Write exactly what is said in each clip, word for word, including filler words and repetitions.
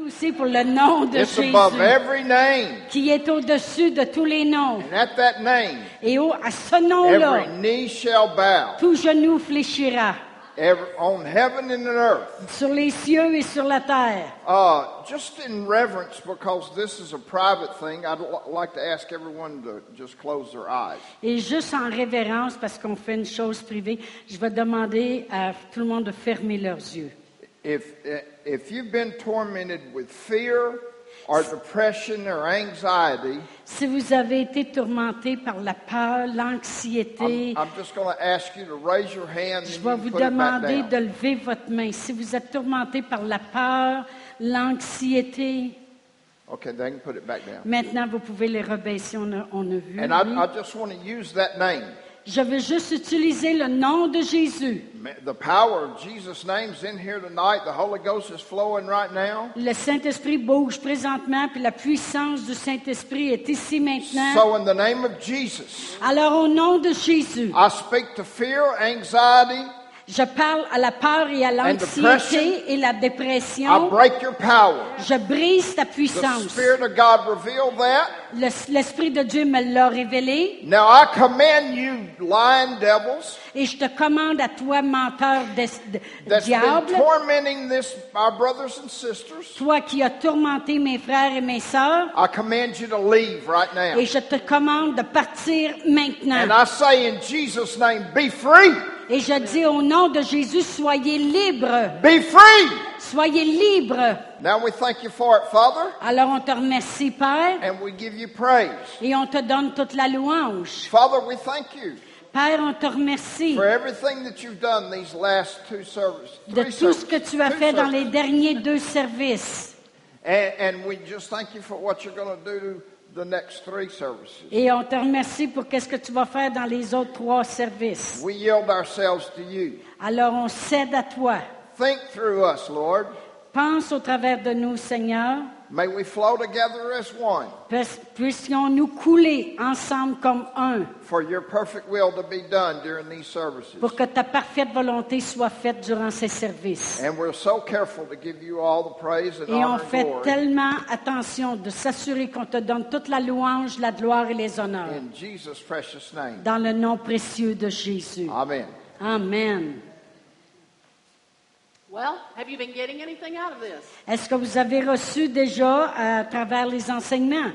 aussi pour le nom de It's Jésus, above every name. qui est au-dessus de tous les noms. And at that name, Et au, à ce nom-là, every knee shall bow, tout genou fléchira, every, on heaven and on earth. sur les cieux et sur la terre. Uh, just in reverence, because this is a private thing, I'd l- like to ask everyone to just close their eyes. Et juste en révérence, parce qu'on fait une chose privée, je vais demander à tout le monde de fermer leurs yeux. If, if you've been tormented with fear or depression or anxiety, Si vous avez été tourmenté par la peur, l'anxiété, I'm, I'm just going to ask you to raise your hand je and vais you vous put it back demander down. de lever votre main. Si vous êtes tourmenté par la peur, l'anxiété, Okay, they can put it back down. maintenant vous pouvez les rebaisser, on a, on a vu. And I, oui. I just want to use that name. Je veux juste utiliser le nom de Jésus. The power of Jesus' name is in here tonight. The Holy Ghost is flowing right now. Le Saint-Esprit bouge présentement, puis la puissance du Saint-Esprit est ici maintenant. So in the name of Jesus, Alors au nom de Jésus, I speak to fear, anxiety. je parle à la peur et à depression. l'anxiété et la I dépression. break your power. Je brise ta The puissance. Spirit of God revealed that. Le- L'Esprit de Dieu me l'a révélé. Now I command you, lying devils, Et je te commande à toi, menteur de, de- that's diable, been tormenting this, our brothers and sisters. toi qui as tourmenté mes frères et mes sœurs, I command you to leave right now. et je te commande de partir maintenant. And I say in Jesus' name, be free. Et je dis au nom de Jésus, soyez libres. Be free. Soyez libres. Now we thank you for it, Father, Alors on te remercie, Père, and we give you praise. et on te donne toute la louange. Father, we thank you Père, on te remercie for everything that you've done these last two services. de three tout ce que services, tu as two fait dans services. les derniers deux services. And, and we just thank you for what you're going to do the next three services. Et on te remercie pour qu'est-ce que tu vas faire dans les autres trois services. We yield ourselves to you. Alors on cède à toi. Think through us, Lord. Pense au travers de nous, Seigneur. May we flow together as one Puis- Puissions-nous couler ensemble comme un for your perfect will to be done during these services. pour que ta parfaite volonté soit faite durant ces services. And we're so careful to give you all the praise and Et on honor and fait glory. tellement attention de s'assurer qu'on te donne toute la louange, la gloire et les honneurs. In Jesus' precious name. Dans le nom précieux de Jésus. Amen. Amen. Well, have you been getting anything out of this? Est-ce que vous avez reçu déjà à travers les enseignements?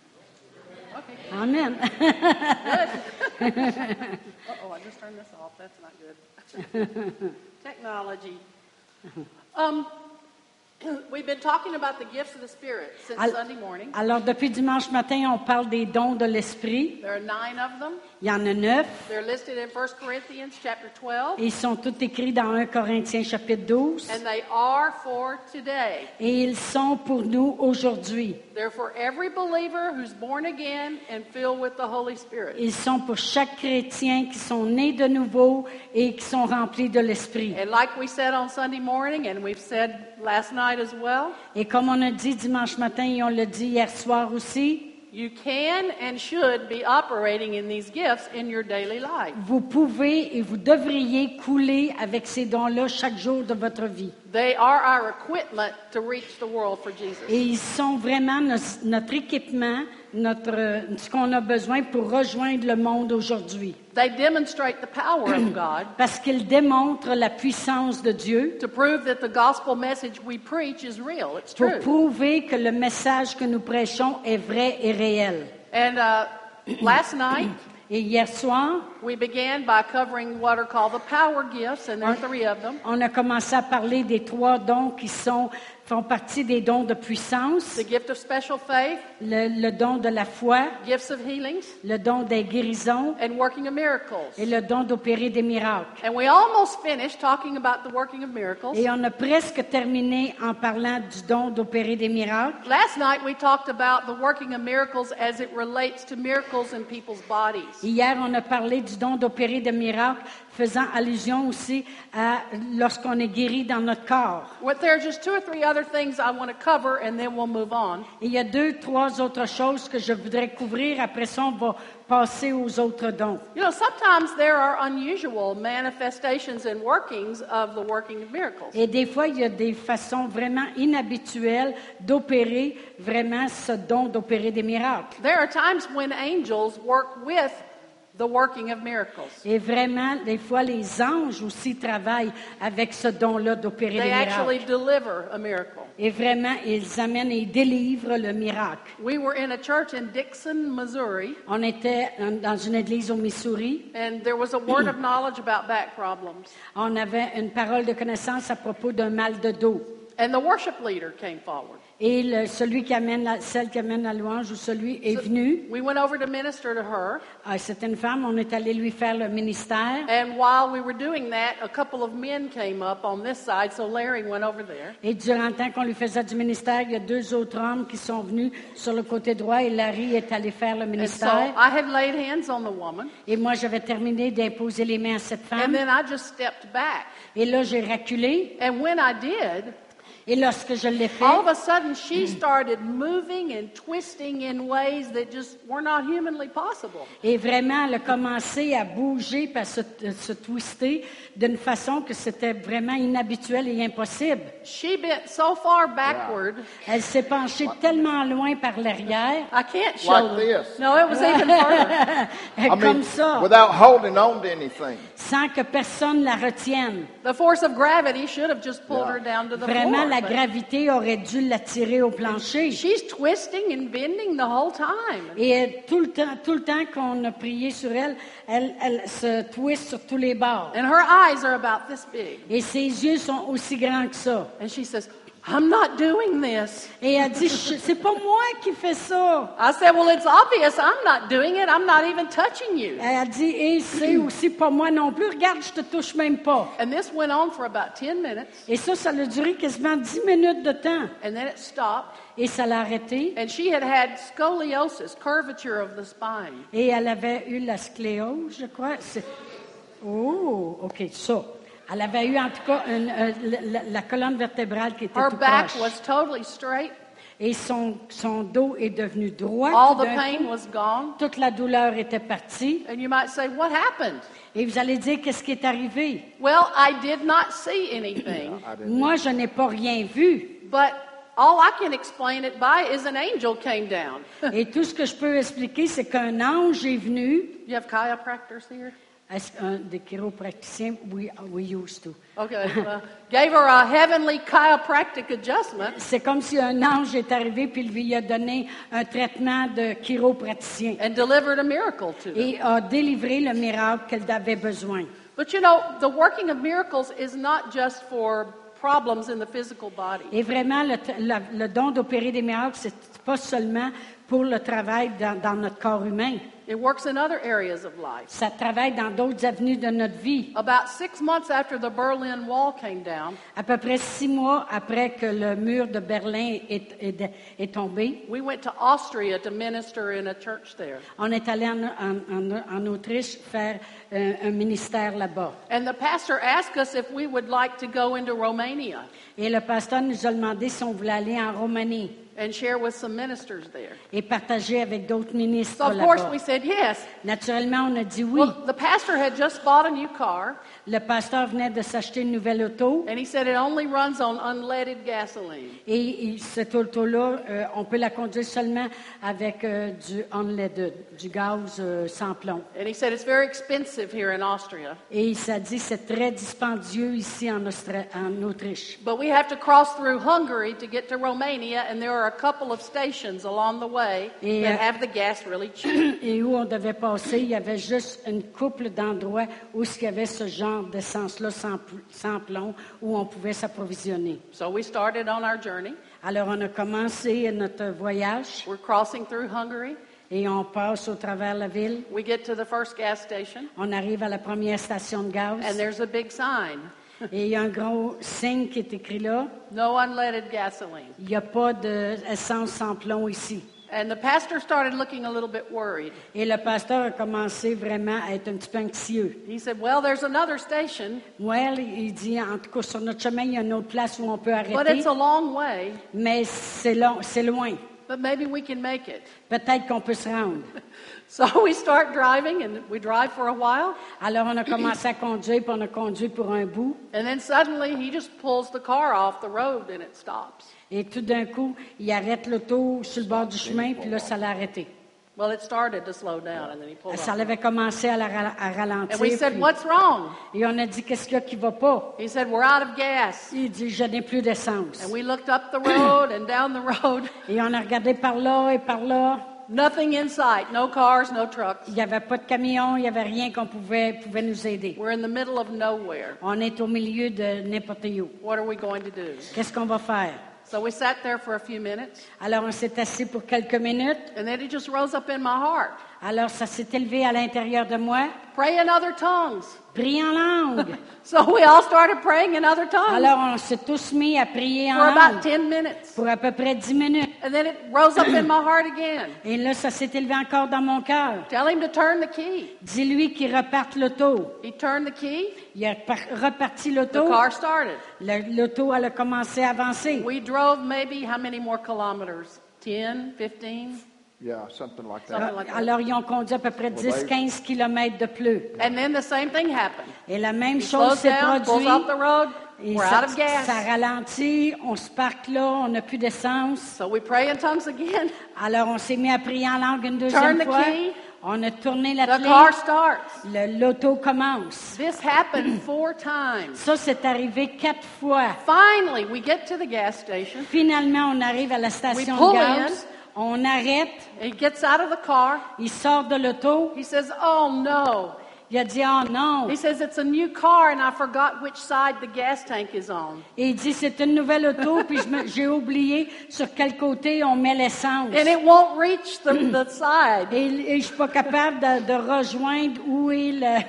Amen. Uh-oh, I just turned this off. That's not good. Technology. Um, we've been talking about the gifts of the Spirit since Al- Sunday morning. Alors, depuis dimanche matin, on parle des dons de l'Esprit. There are nine of them. Il y en a neuf. They're listed in First Corinthians chapter twelve, Et ils sont tous écrits dans un Corinthiens chapitre douze. and they are for today. Et ils sont pour nous aujourd'hui. They're for every believer who's born again and filled with the Holy Spirit. Ils sont pour chaque chrétien qui sont nés de nouveau et qui sont remplis de l'Esprit. And like we said on Sunday morning, and we've said last night as well, Et comme on a dit dimanche matin et on l'a dit hier soir aussi, you can and should be operating in these gifts in your daily life. vous pouvez et vous devriez couler avec ces dons-là chaque jour de votre vie. They are our equipment to reach the world for Jesus. Et ils sont vraiment nos- notre équipement, notre, ce qu'on a besoin pour rejoindre le monde aujourd'hui. They demonstrate the power of God Parce qu'ils démontrent la puissance de Dieu to prove that the gospel message we preach is real. It's pour true. prouver que le message que nous prêchons est vrai et réel. And uh, last night, Et hier soir, we began by covering what are called the power gifts, and there are three of them. on a commencé à parler des trois dons qui sont, font partie des dons de puissance, The gift of special faith, le, le don de la foi, gifts of healings, le don des guérisons and working of miracles. et le don d'opérer des miracles. And we almost finished talking about the working of miracles. Et on a presque terminé en parlant du don d'opérer des miracles. Last night we talked about the working of miracles as it relates to miracles in people's bodies. Hier, on a parlé du don d'opérer des miracles faisant allusion aussi à lorsqu'on est guéri dans notre corps. Well, there are just two or three other things I want to cover, and then we'll move on. Et il y a deux, trois autres choses que je voudrais couvrir. Après ça, on va passer aux autres dons. You know, sometimes there are unusual manifestations and workings of the working of miracles. Et des fois, il y a des façons vraiment inhabituelles d'opérer vraiment ce don d'opérer des miracles. There are times when angels work with the working of miracles. Et vraiment, des fois, les anges aussi travaillent avec ce don-là d'opérer They des actually miracles. deliver a miracle. Et vraiment, ils amènent et délivrent le miracle. We were in a church in Dixon, Missouri, On était dans une église au Missouri. and there was a word of knowledge about back problems. On avait une parole de connaissance à propos d'un mal de dos. And the worship leader came forward. Et le- celui qui amène la, celle qui amène la louange ou celui est venu. We went over to minister to her, Ah, c'était une femme, on est allé lui faire le ministère. and while we were doing that, a couple of men came up on this side, so Larry went over there. Et durant le temps qu'on lui faisait du ministère, il y a deux autres hommes qui sont venus sur le côté droit et Larry est allé faire le And so ministère. I had laid hands on the woman, Et moi, j'avais terminé d'imposer les mains à cette and femme. then I just stepped back. Et là, j'ai reculé. And when I did, Et lorsque je l'ai fait, all of a sudden she started moving and twisting in ways that just were not humanly possible. et vraiment, elle a commencé à bouger, puis à se, se twister d'une façon que c'était vraiment inhabituel et impossible. She bent so far backward, Elle s'est penchée tellement loin par l'arrière, I can't show Like them. this. No, it was even further. I comme mean, ça, without holding on to anything. sans que personne la retienne. The force of gravity should have just pulled her down to the Vraiment, floor. la but gravité aurait dû l'attirer au plancher. She's twisting and bending the whole time. Et elle, tout le temps, tout le temps qu'on a prié sur elle, elle, elle se twiste sur tous les bords. And her eyes are about this big. Et ses yeux sont aussi grands que ça. And she says, I'm not doing this. Et elle dit, Je- c'est pas moi qui fais ça. I said, well, it's obvious I'm not doing it. I'm not even touching you. Elle dit, et c'est aussi pas moi non plus. Regarde, je te touche même pas. And this went on for about ten minutes. Et ça, ça a duré quasiment dix minutes de temps. And then it stopped. Et ça l'a arrêté. And she had had scoliosis, curvature of the spine. Et elle avait eu la scléose, je crois. C'est- Oh, OK, ça. Elle avait eu en tout cas une, euh, la, la- la colonne vertébrale qui était Her tout back croche. was totally straight. Et son, son dos est devenu droit. All tout the d'un pain coup. was gone. Toute la douleur était partie. And you might say, what happened? Et vous allez dire, qu'est-ce qui est arrivé? Well, I did not see anything, Moi, je n'ai pas rien vu. but all I can explain it by is an angel came down. Et tout ce que je peux expliquer, c'est qu'un ange est venu. You have chiropractors here? Est-ce qu'un des chiropraticiens? We, we used to. Okay. Well, gave her a heavenly chiropractic adjustment. C'est comme si un ange est arrivé puis il lui a donné un traitement de chiropraticien And delivered a miracle to her. et a délivré le miracle qu'elle avait besoin. But you know, the working of miracles is not just for problems in the physical body. Et vraiment, le, le- le don d'opérer des miracles, c'est pas seulement pour le travail dans, dans notre corps humain. It works in other areas of life. Ça travaille dans d'autres avenues de notre vie. About six months after the Berlin Wall came down, À peu près six mois après que le mur de Berlin est, est- est tombé, we went to Austria to minister in a church there. on est allé en, en- en- en Autriche faire euh, un ministère là-bas. And the pastor asked us if we would like to go into Romania Et le pasteur nous a demandé si on voulait aller en Roumanie and share with some ministers there. et partager avec d'autres ministres So of course là-bas. we said yes. Naturellement, on a dit oui. Well, the pastor had just bought a new car, Le pasteur venait de s'acheter une nouvelle auto and he said it only runs on unleaded gasoline. et, et cette auto-là, euh, on peut la conduire seulement avec euh, du unleaded, du gaz euh, sans plomb. And he said it's very expensive here in Austria, Et il s'est dit c'est très dispendieux ici en, Austra- en Autriche. but we have to cross through Hungary to get to Romania, and there are a couple of stations along the way Et, that euh, have the gas really cheap. Et où on devait passer, il y avait juste une couple d'endroits où il y avait ce genre d'essence-là sans, pl- sans plomb, où on pouvait s'approvisionner. So we started on our journey. Alors on a commencé notre voyage We're crossing through Hungary. et on passe au travers la ville. We get to the first gas station, On arrive à la première station de and gaz there's a big sign. et il y a un gros signe qui est écrit là. No unleaded gasoline. Il n'y a pas d'essence sans plomb ici. And the pastor started looking a little bit worried. Et le pasteur a commencé vraiment à être un petit peu anxieux. He said, well, there's another station, Well, il dit, en tout cas, sur notre chemin, il y a une autre place où on peut but arrêter, it's a long way, mais c'est long, c'est loin. but maybe we can make it. Peut-être qu'on peut se rendre. So we start driving, and we drive for a while, Alors, on a commencé à conduire, puis on a conduit pour un bout. and then suddenly he just pulls the car off the road and it stops. Et tout d'un coup, il arrête l'auto sur le bord du chemin, puis là, ça l'a arrêté. Well, it started to slow down, and then he pulled Ça off. avait commencé à, la ra- à ralentir. And we said, puis- what's wrong? et on a dit, qu'est-ce qu'il y a qui va pas? He said, we're out of gas. Il dit, je n'ai plus d'essence. And we looked up the road and down the road. Et on a regardé par là et par là. Nothing in sight. No cars, no trucks. Il n'y avait pas de camion, il n'y avait rien qu'on pouvait, pouvait nous aider. We're in the middle of nowhere. On est au milieu de n'importe où. What are we going to do? Qu'est-ce qu'on va faire? So we sat there for a few minutes, Alors, on s'est assis pour quelques minutes. and then it just rose up in my heart. Alors, ça s'est élevé à l'intérieur de moi. Pray in other tongues. Prie en langue. So we all started praying in other tongues Alors, on s'est tous mis à prier en for about langue ten minutes. pour à peu près dix minutes. And then it rose up in my heart again. Et là, ça s'est élevé encore dans mon cœur. Tell him to turn the key. Dis-lui qu'il reparte l'auto. He turned the key. Il a par- reparti The l'auto. car started. Le- L'auto, elle a commencé à avancer. We drove maybe how many more kilometers? ten, fifteen? Yeah, something like that. Something like that. Alors, ils ont conduit à peu près dix quinze kilomètres de plus. And then the same thing happened. Et la même He chose slows s'est down, pulls off the produite. road. Et We're ça, out of gas. ça ralentit, on se parque là, on n'a plus d'essence. So we pray in tongues again. Alors, on s'est mis à prier en langue une Turn deuxième the fois. key. On a tourné la The clé. car starts. Le- L'auto commence. This happened four times. Ça, c'est arrivé quatre fois. Finally, we get to the gas station. Finalement, on arrive à la station We pull de gaz. in. On arrête. He gets out of the car. Il sort de l'auto. He says, oh no. Il a dit, oh non. He says, it's a new car and I forgot which side the gas tank is on. Et il dit, c'est une nouvelle auto, puis je me- j'ai oublié sur quel côté on met l'essence. And it won't reach the, the side. Et, et je suis pas capable de, de rejoindre où est le,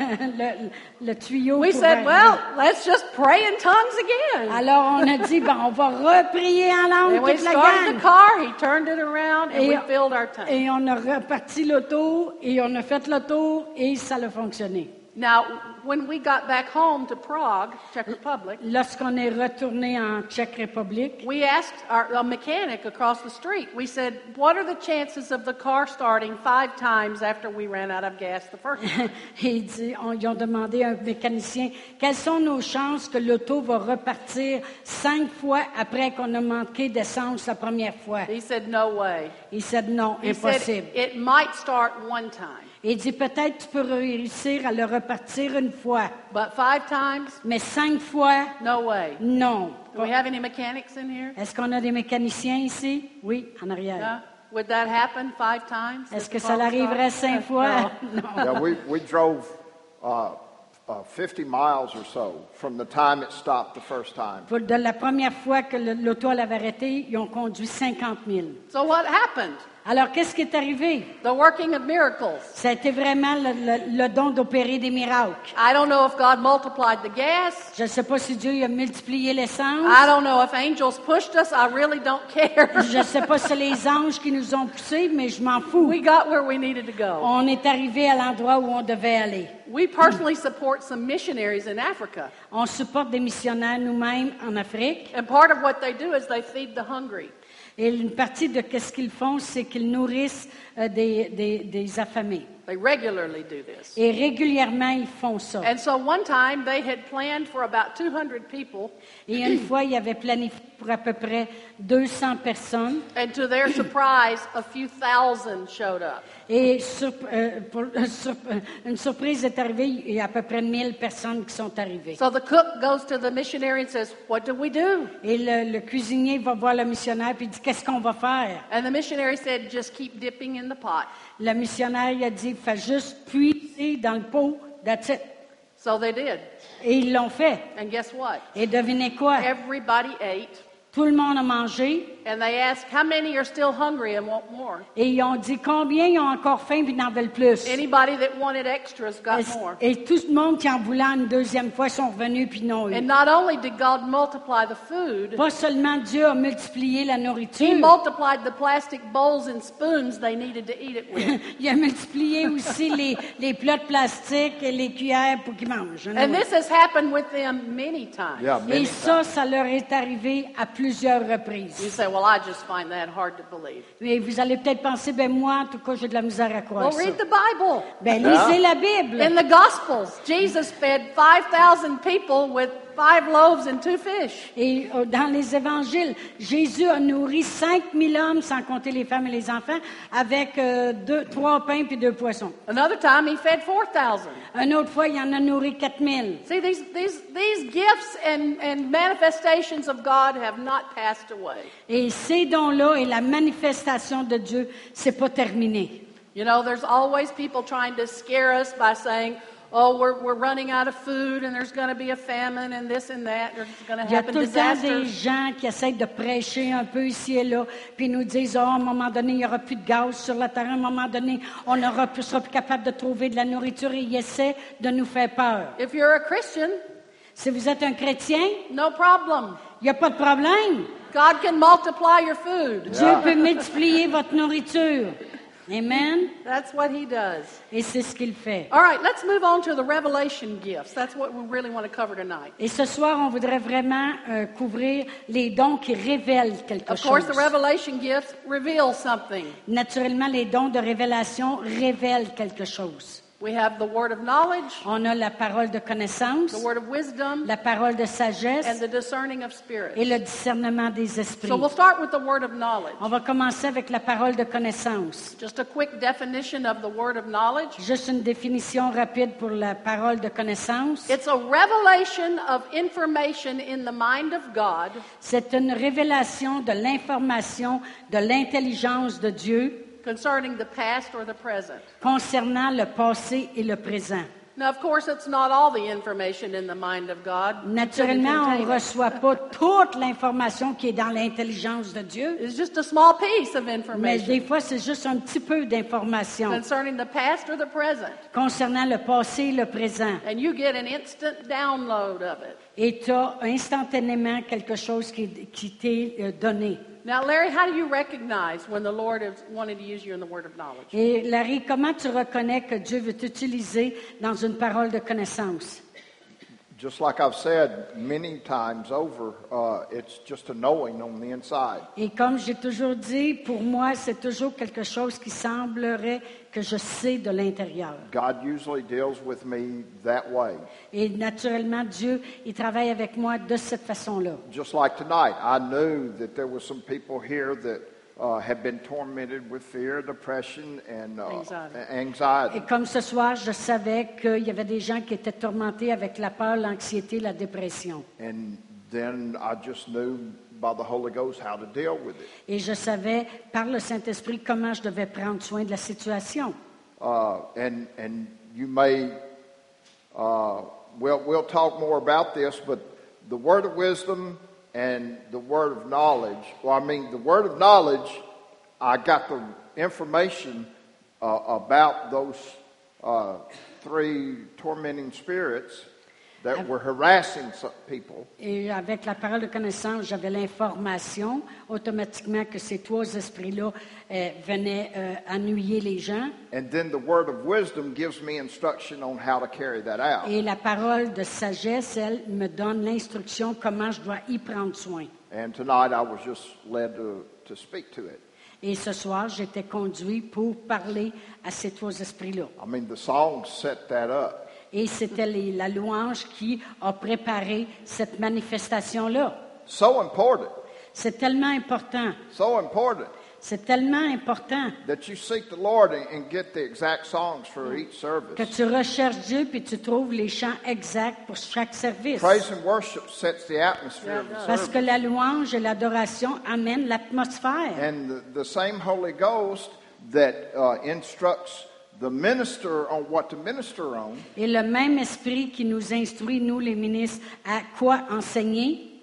le, le tuyau. We pour said, arriver. well, let's just pray in tongues again. Alors on a dit, ben, on va reprier en langue And we toute la started the gang. car, he turned it around, and Et, we filled our tank. et on a reparti l'auto, et on a fait le tour, et ça a fonctionné. Now, when we got back home to Prague, Czech Republic, Lorsqu'on est retourné en Tchèque République, we asked our a mechanic across the street, we said, what are the chances of the car starting five times after we ran out of gas the first time? et il dit, on, ils ont demandé à un mécanicien, quelles sont nos chances que l'auto va repartir cinq fois après qu'on a manqué d'essence la première fois? He said, no way. Il dit, non, He said, impossible. it might start one time, Et il dit, peut-être tu peux réussir à le repartir une fois, but five times, mais cinq fois, no way. non. Do we have any mechanics in here? Est-ce qu'on a des mécaniciens ici? Oui, en arrière. No? Would that happen five times? Est-ce that que the ça car would l'arriverait start? cinq fois? No. Non. Yeah, we, we drove uh, uh, fifty miles or so from the time it stopped the first time. Pour- De la première fois que le- l'auto l'avait arrêté, ils ont conduit cinquante mille. So what happened? Alors, qu'est-ce qui est arrivé? The working of miracles. Ça a été vraiment le, le- le don d'opérer des miracles. I don't know if God multiplied the gas. Je ne sais pas si Dieu a multiplié l'essence. I don't know if angels pushed us. I really don't care. Je ne sais pas si c'est les anges qui nous ont poussés, mais je m'en fous. We got where we needed to go. On est arrivé à l'endroit où on devait aller. We personally support some missionaries in Africa. On supporte des missionnaires nous-mêmes en Afrique. And part of what they do is they feed the hungry. Et une partie de ce qu'ils font, c'est qu'ils nourrissent euh, des, des, des affamés. They regularly do this. Et régulièrement, ils font ça. And so one time they had planned for about two hundred people, Et une fois, ils avaient planifié pour à peu près deux cents personnes. and to their surprise, a few thousand showed up. Et sur- euh, pour- euh, sur- euh, une surprise est arrivée, il y a à peu près mille personnes qui sont arrivées. So the cook goes to the missionary and says, what do we do? Et le, le cuisinier va voir le missionnaire et dit, qu'est-ce qu'on va faire? And the missionary said, just keep dipping in the pot. Le missionnaire il a dit, fais juste puiser dans le pot, that's it. So they did. Et ils l'ont fait. And guess what? Et devinez quoi? Everybody ate. Tout le monde a mangé And they asked, how many are still hungry and want more? Et ils ont dit combien ils ont encore faim et n'en veulent plus. Anybody that wanted extras got Et, more. et tout le monde qui en voulait une deuxième fois sont revenus puis n'ont eu. And not only did God multiply the food, Pas seulement Dieu a multiplié la He nourriture, multiplied the plastic bowls and spoons they needed to eat it with. il a multiplié aussi les, les plats de plastique et les cuillères pour qu'ils mangent. And this has happened with them many times. Yeah, Et many ça, times. ça leur est arrivé à plusieurs You reprises. say, well, I just find that hard to believe. Mais vous allez peut-être penser, ben moi, en tout cas, j'ai de la misère à croire Well, ça. read the Bible. Ben Yeah. lisez la Bible. In the Gospels, Jesus fed five thousand people with five loaves and two fish. Et euh, dans les évangiles, Jésus a nourri cinq mille hommes, sans compter les femmes et les enfants, avec euh, deux, trois pains puis deux poissons. Another time, he fed four thousand. Une autre fois, il en a nourri quatre mille. See, these, these, these gifts and, and manifestations of God have not passed away. Et ces dons-là et la manifestation de Dieu, c'est pas terminé. You know, there's always people trying to scare us by saying, oh, we're, we're running out of food and there's going to be a famine and this and that. There's going to Il y a happen tout le temps des disasters. gens qui essayent de prêcher un peu ici et là, puis nous disent, oh, à un moment donné, il n'y aura plus de gaz sur la terre, à un moment donné, on ne sera plus capable de trouver de la nourriture, et ils essaient de nous faire peur. If you're a Christian, Si vous êtes un chrétien, no problem. il n'y a pas de problème. God can multiply your food. Dieu peut multiplier votre nourriture. Amen. That's what he does. Et c'est ce qu'il fait. All right, let's move on to the revelation gifts. That's what we really want to cover tonight. Et ce soir, on voudrait vraiment euh, couvrir les dons qui révèlent quelque Of course, the chose. revelation gifts reveal something. Naturellement, les dons de révélation révèlent quelque chose. We have the word of knowledge, On a la parole de connaissance, the word of wisdom, la parole de and sagesse the discerning of spirits. et le discernement des esprits. So we'll start with the word of knowledge. On va commencer avec la parole de connaissance. Just a quick definition of the word of knowledge. Juste une définition rapide pour la parole de connaissance. It's a revelation of information in the mind of God C'est une révélation de l'information, de l'intelligence de Dieu concerning the past or the present. concernant le passé et le présent. Now, of course, it's not all the information in the mind of God. It couldn't Naturellement, on contain ne it. reçoit pas toute l'information qui est dans l'intelligence de Dieu, It's just a small piece of mais information des fois, c'est juste un petit peu d'information concerning the past or the present. concernant le passé et le présent. And you get an instant download of it. Et tu as instantanément quelque chose qui, qui t'est euh, donné. Now, Larry, how do you recognize when the Lord is wanting to use you in the word of knowledge? Et Larry, comment tu reconnais que Dieu veut t'utiliser dans une parole de connaissance? Just like I've said many times over, uh, it's just a knowing on the inside. Et comme j'ai toujours dit, pour moi, c'est toujours quelque chose qui semblerait que je sais de l'intérieur. God usually deals with me that way. Et naturellement, Dieu, il travaille avec moi de cette façon-là. Just like tonight, I knew that there were some people here that uh, had been tormented with fear, depression, and uh, Anxiety. a- anxiety. Et comme ce soir, je savais qu'il y avait des gens qui étaient tourmentés avec la peur, l'anxiété, la dépression. And then I just knew by the Holy Ghost how to deal with it. Et je savais, par le Saint-Esprit, comment je devais prendre soin de la situation. Uh, and and you may, uh, we'll we'll talk more about this, but the word of wisdom and the word of knowledge. Well, I mean, the word of knowledge, I got the information uh, about those uh, three tormenting spirits that were harassing some people. Et avec la parole de connaissance, j'avais l'information automatiquement que ces trois esprits-là euh, venaient euh, ennuyer les gens. And then the word of wisdom gives me instruction on how to carry that out. Et la parole de sagesse, elle, me donne l'instruction comment je dois y prendre soin. And tonight I was just led to, to speak to it. Et ce soir, j'étais conduit pour parler à ces trois esprits-là. I mean, the song set that up. Et c'était les- la louange qui a préparé cette manifestation-là. So important, C'est tellement important. so important C'est tellement important that you seek the Lord and, and get the exact songs for each service. que tu recherches Dieu puis tu trouves les chants exacts pour chaque service. Praise and worship sets the atmosphere of the Parce que service. la louange et l'adoration amènent l'atmosphère. And the, the same Holy Ghost that uh, instructs the minister on what to minister on Et le même esprit qui nous instruit, nous les ministres, à quoi enseigner,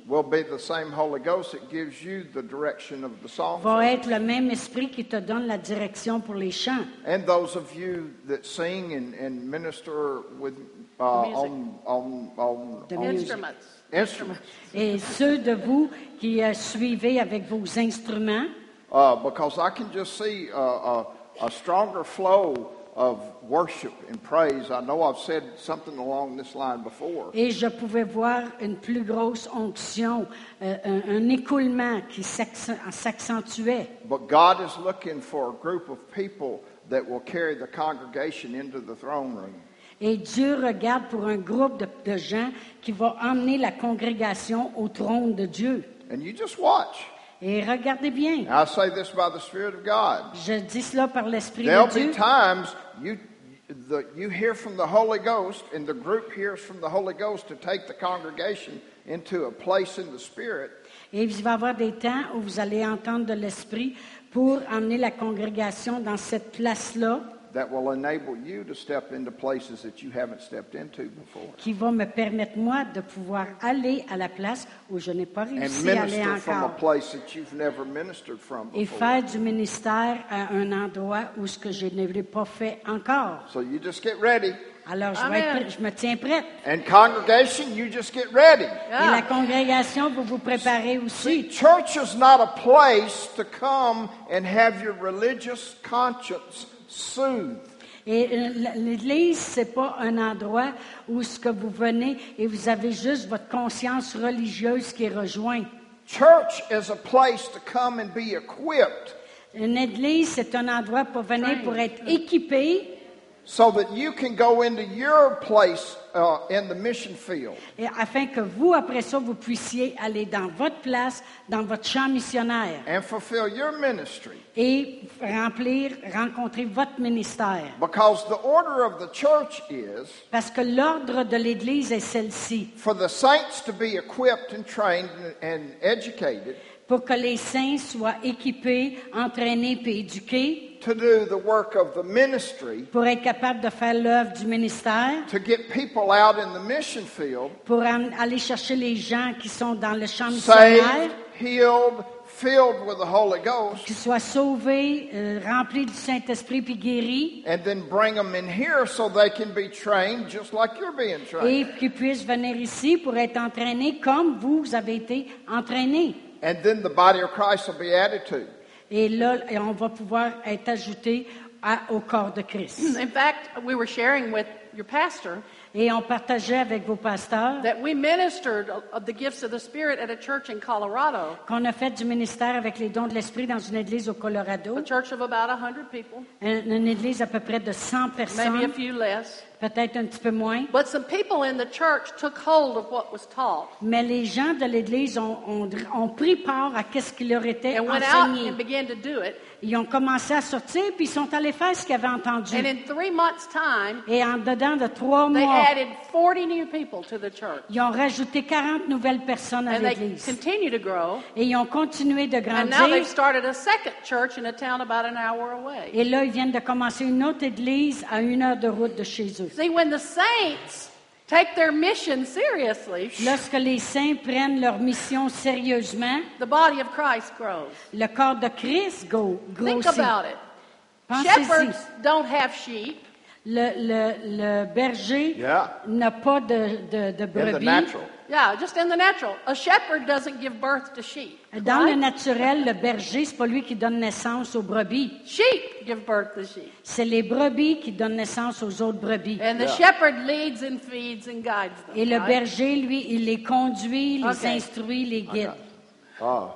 will be the same Holy Ghost that gives you the direction of the song. va être le même esprit qui te donne la direction pour les chants. And those of you that sing and, and minister with uh, Music. on on on, The on music. Instruments. instruments, Et ceux de vous qui euh, suivez avec vos instruments, uh, because I can just see a, a, a stronger flow of worship and praise. I know I've said something along this line before. et je pouvais voir une plus grosse onction, euh, un, un écoulement qui s'accent- s'accentuait. But God is looking for a group of people that will carry the congregation into the throne room. Et Dieu regarde pour un groupe de, de gens qui va emmener la congrégation au trône de Dieu. And you just watch. Et regardez bien, And I say this by the Spirit of God. je dis cela par l'Esprit There'll de be Dieu. times you the, you hear from the Holy Ghost, and the group hears from the Holy Ghost to take the congregation into a place in the Spirit. Et il va y avoir des temps où vous allez entendre de l'Esprit pour emmener la congrégation dans cette place-là, That will enable you to step into places that you haven't stepped into before. qui va me permettre, moi, de pouvoir aller à la place où je n'ai pas And réussi à aller minister from a encore. place that you've never ministered from Et before. faire du ministère à un endroit où ce que je ne l'ai pas fait encore. So you just get ready. Alors, je, vais être Amen. prêt- je me tiens prête. And congregation, you just get ready. Et la Yeah. congrégation, vous vous préparez See, aussi. church is not a place to come and have your religious conscience soothed. Et euh, l'Église, c'est pas un endroit où ce que vous venez et vous avez juste votre conscience religieuse qui est rejointe. Church is a place to come and be equipped Une Église, c'est un endroit pour venir pour être équipé so that you can go into your place uh, in the mission field. et afin que vous, après ça, vous puissiez aller dans votre place, dans votre champ missionnaire And fulfill your ministry. et remplir, rencontrer votre ministère. Because the order of the church is Parce que l'ordre de l'Église est celle-ci, for the saints to be equipped and trained and educated pour que les saints soient équipés, entraînés et éduqués, to do the work of the ministry, pour être capables de faire l'œuvre du ministère, to get people out in the mission field pour en- aller chercher les gens qui sont dans le champ saved, missionnaire, healed, filled with the Holy Ghost, qui soient sauvés, euh, remplis du Saint-Esprit puis guéris, and then bring them in here so they can be trained just like you're being trained. et qu'ils puissent venir ici pour être entraînés comme vous avez été entraînés. And then the body of Christ will be added to. Et là, et on va pouvoir être ajouté à- au corps de Christ. In fact, we were sharing with your pastor Et on partageait avec vos pasteurs that we ministered of the gifts of the Spirit at a church in Colorado, qu'on a fait du ministère avec les dons de l'Esprit dans une église au Colorado, a church of about one hundred people, une une église à peu près de cent maybe a personnes, few less. peut-être un petit peu moins. But some people in the church took hold of what was taught Mais les gens de l'Église ont, ont, ont pris part à ce qui leur était and went out enseigné. and began to do it. Ils ont commencé à sortir, puis ils sont allés faire ce qu'ils avaient entendu. And in three months' time, Et en dedans de trois they mois, added forty new people to the church. ils ont rajouté quarante nouvelles personnes à And they l'Église. continue to grow. Et ils ont continué de And now they've grandir. started a second church in a town about an hour away. Et là, ils viennent de commencer une autre église à une heure de route de chez eux. See, when the saints take their mission seriously, Lorsque les saints prennent leur mission sérieusement, the body of Christ grows. le corps de Christ go- Think grossit. about it. Pensez-y. Shepherds don't have sheep. Le, le, le berger Yeah. n'a pas de, de, de In the brebis. natural. Yeah, just in the natural. A shepherd doesn't give birth to sheep. Dans le right? naturel, le berger, c'est pas lui qui donne naissance aux brebis. Sheep give birth to sheep. C'est les brebis qui donnent naissance aux autres brebis. And the Yeah. shepherd leads and feeds and guides them. Et le right? berger, lui, il les conduit, les Okay. instruit, les guide. Uh,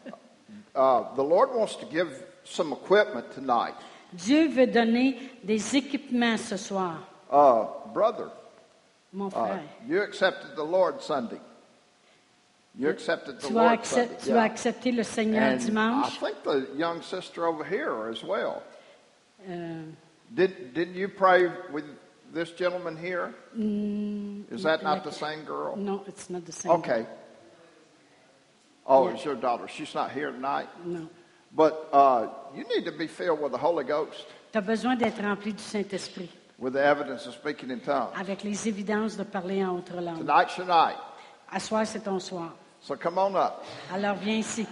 uh, the Lord wants to give some equipment tonight. Dieu veut donner des équipements ce soir, Uh, brother, mon uh, frère. you accepted the Lord Sunday. You accepted the Tu as, Lord accep- Sunday. tu as accepté le Seigneur And I dimanche. think the young sister over here as well. Euh, Did, didn't you pray with this gentleman here? mm, Is that not the like- same girl? No, it's not the same. Okay. Oh, Yeah. it's your daughter. She's not here tonight. Non. But uh, you need to be filled with the Holy Ghost, Tu as besoin d'être rempli du Saint-Esprit, with the evidence of speaking in tongues. avec les évidences de parler en autre langue. Tonight's your night. À soir, c'est ton soir. So come on up. Alors viens ici.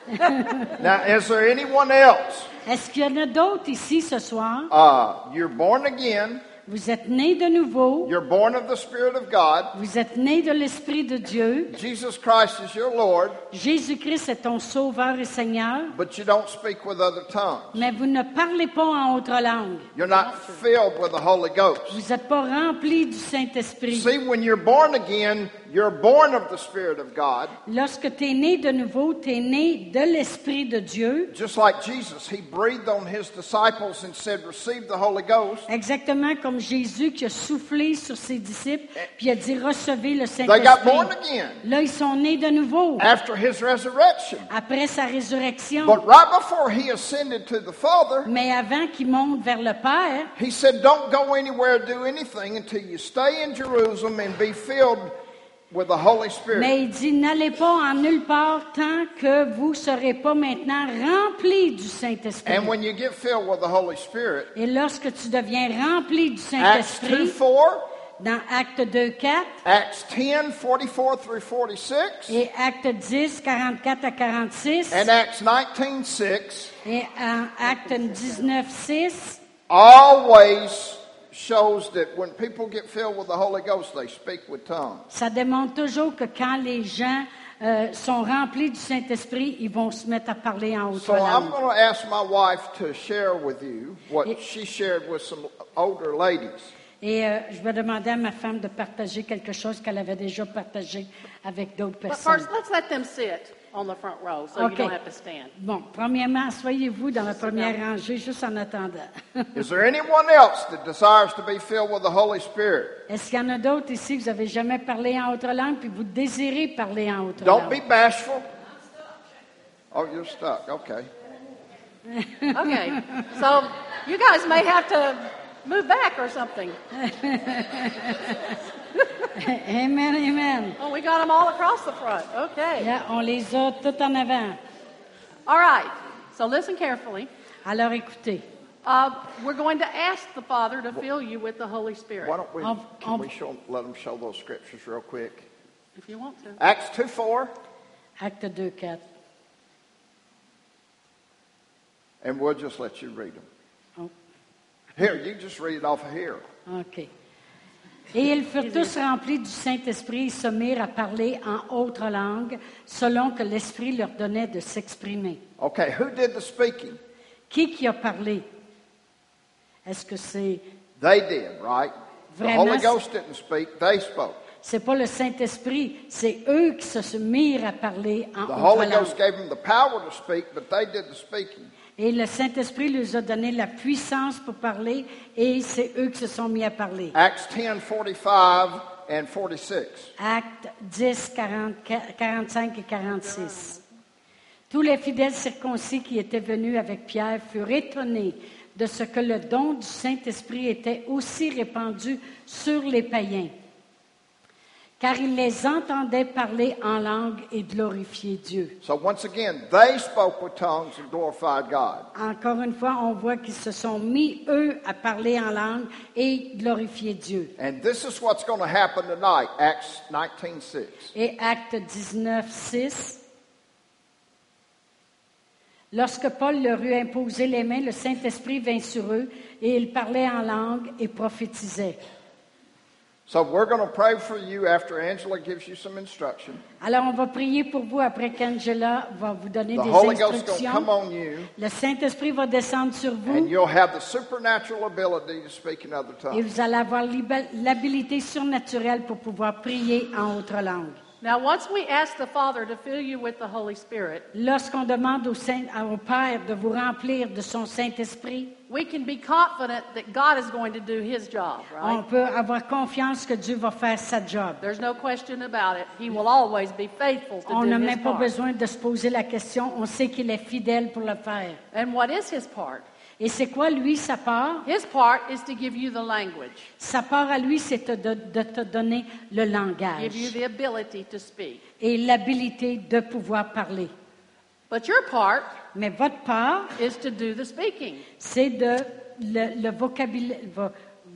Now, is there anyone else? Est-ce qu'il y en a d'autres ici ce soir? Uh, you're born again. Vous êtes nés de nouveau. You're born of the Spirit of God. Vous êtes nés de l'Esprit de Dieu. Jesus Christ is your Lord, Jésus-Christ est ton Sauveur et Seigneur. but you don't speak with other tongues. Mais vous ne parlez pas en autre langue. You're not filled with the Holy Ghost. Vous n'êtes pas remplis du Saint-Esprit. See, when you're born again, you're born of the Spirit of God. Lorsque tu es né de nouveau, tu es né de l'Esprit de Dieu. Just like Jesus, he breathed on his disciples and said, receive the Holy Ghost. Exactement comme Jésus qui a soufflé sur ses disciples, puis il a dit recevez le They got born Saint-Esprit. again Là, ils sont nés de nouveau after his resurrection. après sa résurrection. But right before he ascended to the Father, Mais avant qu'ils montent vers le Père, he said, don't go anywhere, do anything until you stay in Jerusalem and be filled with the Holy Spirit. mais il dit n'allez pas en nulle part tant que vous ne serez pas maintenant remplis du Saint-Esprit. And when you get filled with the Holy Spirit, Et lorsque tu deviens rempli du Acts two Saint-Esprit, four, dans Acte deux, quatre Acts ten forty-four through forty-six, et Acte dix, quarante-quatre à quarante-six and Acts nineteen six et en Acte dix-neuf, six, always shows that when people get filled with the Holy Ghost, they speak with tongues. ça démontre toujours que quand les gens euh, sont remplis du Saint-Esprit, ils vont se mettre à parler en autre So I'm langue. going to ask my wife to share with you what It- she shared with some older ladies. Et euh, je vais demander à ma femme de partager quelque chose qu'elle avait déjà partagé avec d'autres But personnes. first, let's let them sit on the front row so Okay. you don't have to stand. Bon, premièrement, asseyez-vous dans la première rangée juste en attendant. Is there anyone else that desires to be filled with the Holy Spirit? Est-ce qu'il y en a d'autres ici que vous n'avez jamais parlé en autre langue puis vous désirez parler en autre Don't langue? be bashful. Oh, you're stuck. Okay. Okay. So you guys may have to move back or something. Amen, amen. Oh, we got them all across the front. Okay. Là, on les a tout en avant. All right. So listen carefully. Alors écoutez, Uh, we're going to ask the Father to fill you with the Holy Spirit, Why don't we, Um, can um, we show, let them show those scriptures real quick? if you want to. Acts two four, Acte deux, quatre. and we'll just let you read them. Oh, Here, you just read it off of here. OK. Et ils furent tous remplis du Saint-Esprit et se mirent à parler en autre langue, selon que l'Esprit leur donnait de s'exprimer. Okay, who did the speaking? Qui qui a parlé? Est-ce que c'est They did, right? The Vraiment, Holy Ghost didn't speak, they spoke. c'est pas le Saint-Esprit, c'est eux qui se mirent à parler en The autre Holy langue. Ghost gave them the power to speak, but they did the speaking. Et le Saint-Esprit leur a donné la puissance pour parler et c'est eux qui se sont mis à parler. Acts ten forty-five and forty-six. Actes dix, quarante, quarante-cinq et quarante-six. Tous les fidèles circoncis qui étaient venus avec Pierre furent étonnés de ce que le don du Saint-Esprit était aussi répandu sur les païens, car ils les entendaient parler en langue et glorifier Dieu. So once again, they spoke with tongues and glorified God. Encore une fois, on voit qu'ils se sont mis, eux, à parler en langue et glorifier Dieu. And this is what's going to happen tonight, Acts nineteen six. Et Acte dix-neuf, six. Lorsque Paul leur eut imposé les mains, le Saint-Esprit vint sur eux et ils parlaient en langue et prophétisaient. So we're going to pray for you after Angela gives you some instruction. Alors, on va prier pour vous après qu'Angela va vous donner The des Holy Ghost is going to come instructions. on you, Le Saint-Esprit va descendre sur and vous you'll have the supernatural ability to speak in other et tongues. vous allez avoir l'hab- l'habilité surnaturelle pour pouvoir prier en autre langue. Now, once we ask the Father to fill you with the Holy Spirit, Lorsqu'on demande au, Saint, au Père de vous remplir de son Saint-Esprit, we can be confident that God is going to do His job, on right? peut avoir confiance que Dieu va faire sa job. There's no question about it. He will always be faithful to On do n'a His même pas part. besoin de se poser la question. On sait qu'il est fidèle pour le faire. And what is His part? Et c'est quoi, lui, sa part? His part is to give you the language, Sa part à lui, c'est de, de te donner le give you langage the ability to speak. et l'habilité de pouvoir parler. But your part Mais votre part, is to do the speaking. c'est de le, le vocabulaire, vo-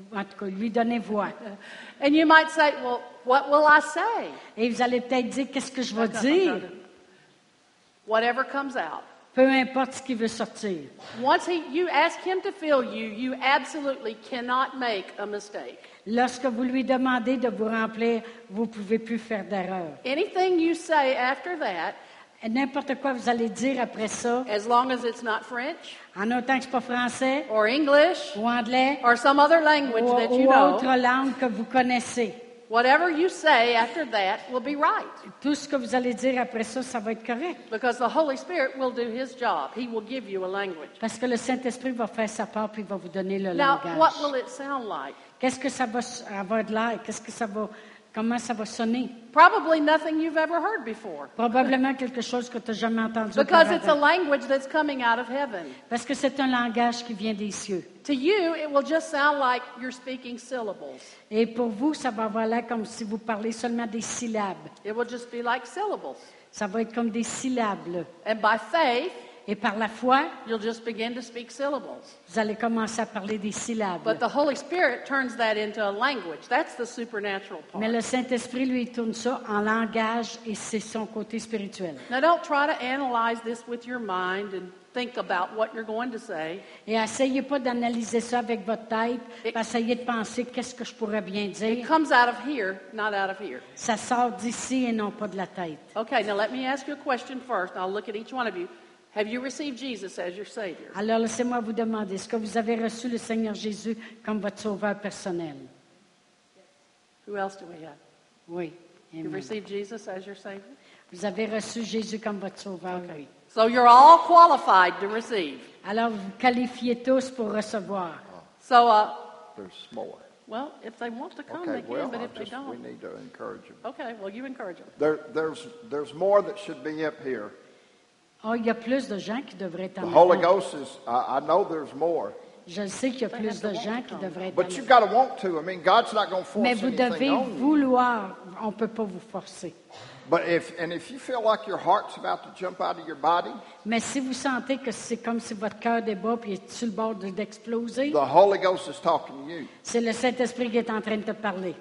en tout cas, lui donner voix. And you might say, well, what will I say? Et vous allez peut-être dire, qu'est-ce que je vais I'm trying dire? to- Whatever comes out. Peu importe ce qui veut sortir. Once he, you ask him to fill you, you absolutely cannot make a mistake. Lorsque vous lui demandez de vous remplir, vous ne pouvez plus faire d'erreur. Anything you say after that, Et n'importe quoi vous allez dire après ça, as long as it's not French en autant que ce n'est pas français or English ou anglais or some other language ou, that you ou know, autre langue que vous connaissez, whatever you say after that will be right. tout ce que vous allez dire après ça, ça va être correct. Because the Holy Spirit will do his job. He will give you a language. Parce que le Saint-Esprit va faire sa part puis il va vous donner le Now, langage. what will it sound like? Qu'est-ce que ça va s- avoir de l'air? Qu'est-ce que ça va, comment ça va sonner? Probably nothing you've ever heard before. Probablement quelque chose que tu n'as jamais entendu Because it's a auparavant. language that's coming out of heaven. Parce que c'est un langage qui vient des cieux. To you, it will just sound like you're speaking syllables. Et pour vous, ça va avoir l'air comme si vous parlez seulement des syllabes. It will just be like syllables. Ça va être comme des syllabes, là. And by faith, Et par la foi, you'll just begin to speak syllables. vous allez commencer à parler des syllabes. But the Holy Spirit turns that into a language. That's the supernatural part. Mais le Saint-Esprit, lui, il tourne ça en langage et c'est son côté spirituel. Now, don't try to analyze this with your mind and think about what you're going to say. Et essayez pas d'analyser ça avec votre tête, Et- puis essayez de penser qu'est-ce que je pourrais bien It dire. comes out of here, not out of here. Ça sort d'ici et non pas de la tête. Okay, now let me ask you a question first. I'll look at each one of you. Have you received Jesus as your Savior? Alors, laissez-moi vous demander, est-ce que vous avez reçu le Seigneur Jésus comme votre sauveur personnel? Who else do we have? Oui. You've Amen. received Jesus as your Savior? Vous avez reçu Jésus comme votre sauveur, oui. So you're all qualified to receive. Alors, vous vous qualifiez tous pour recevoir. So, uh, There's more. well, if they want to come, Okay, they can, well, but I if they just, we don't, need to encourage them. okay, well, you encourage them. There, there's, there's more that should be up here. Oh, il y a plus de gens qui devraient être The en Holy avant. Ghost is, I, I know there's more. Je sais qu'il y a plus de gens qui devraient être But en you've avant. got to want to. I mean, God's not going to force Mais vous anything devez on you. vouloir. On ne peut pas vous forcer. But if, and if you feel like your heart's about to jump out of your body, Mais si vous sentez que c'est comme si votre cœur débat et est sur le bord de- d'exploser, the Holy Ghost is talking to you. c'est le Saint-Esprit qui est en train de te parler.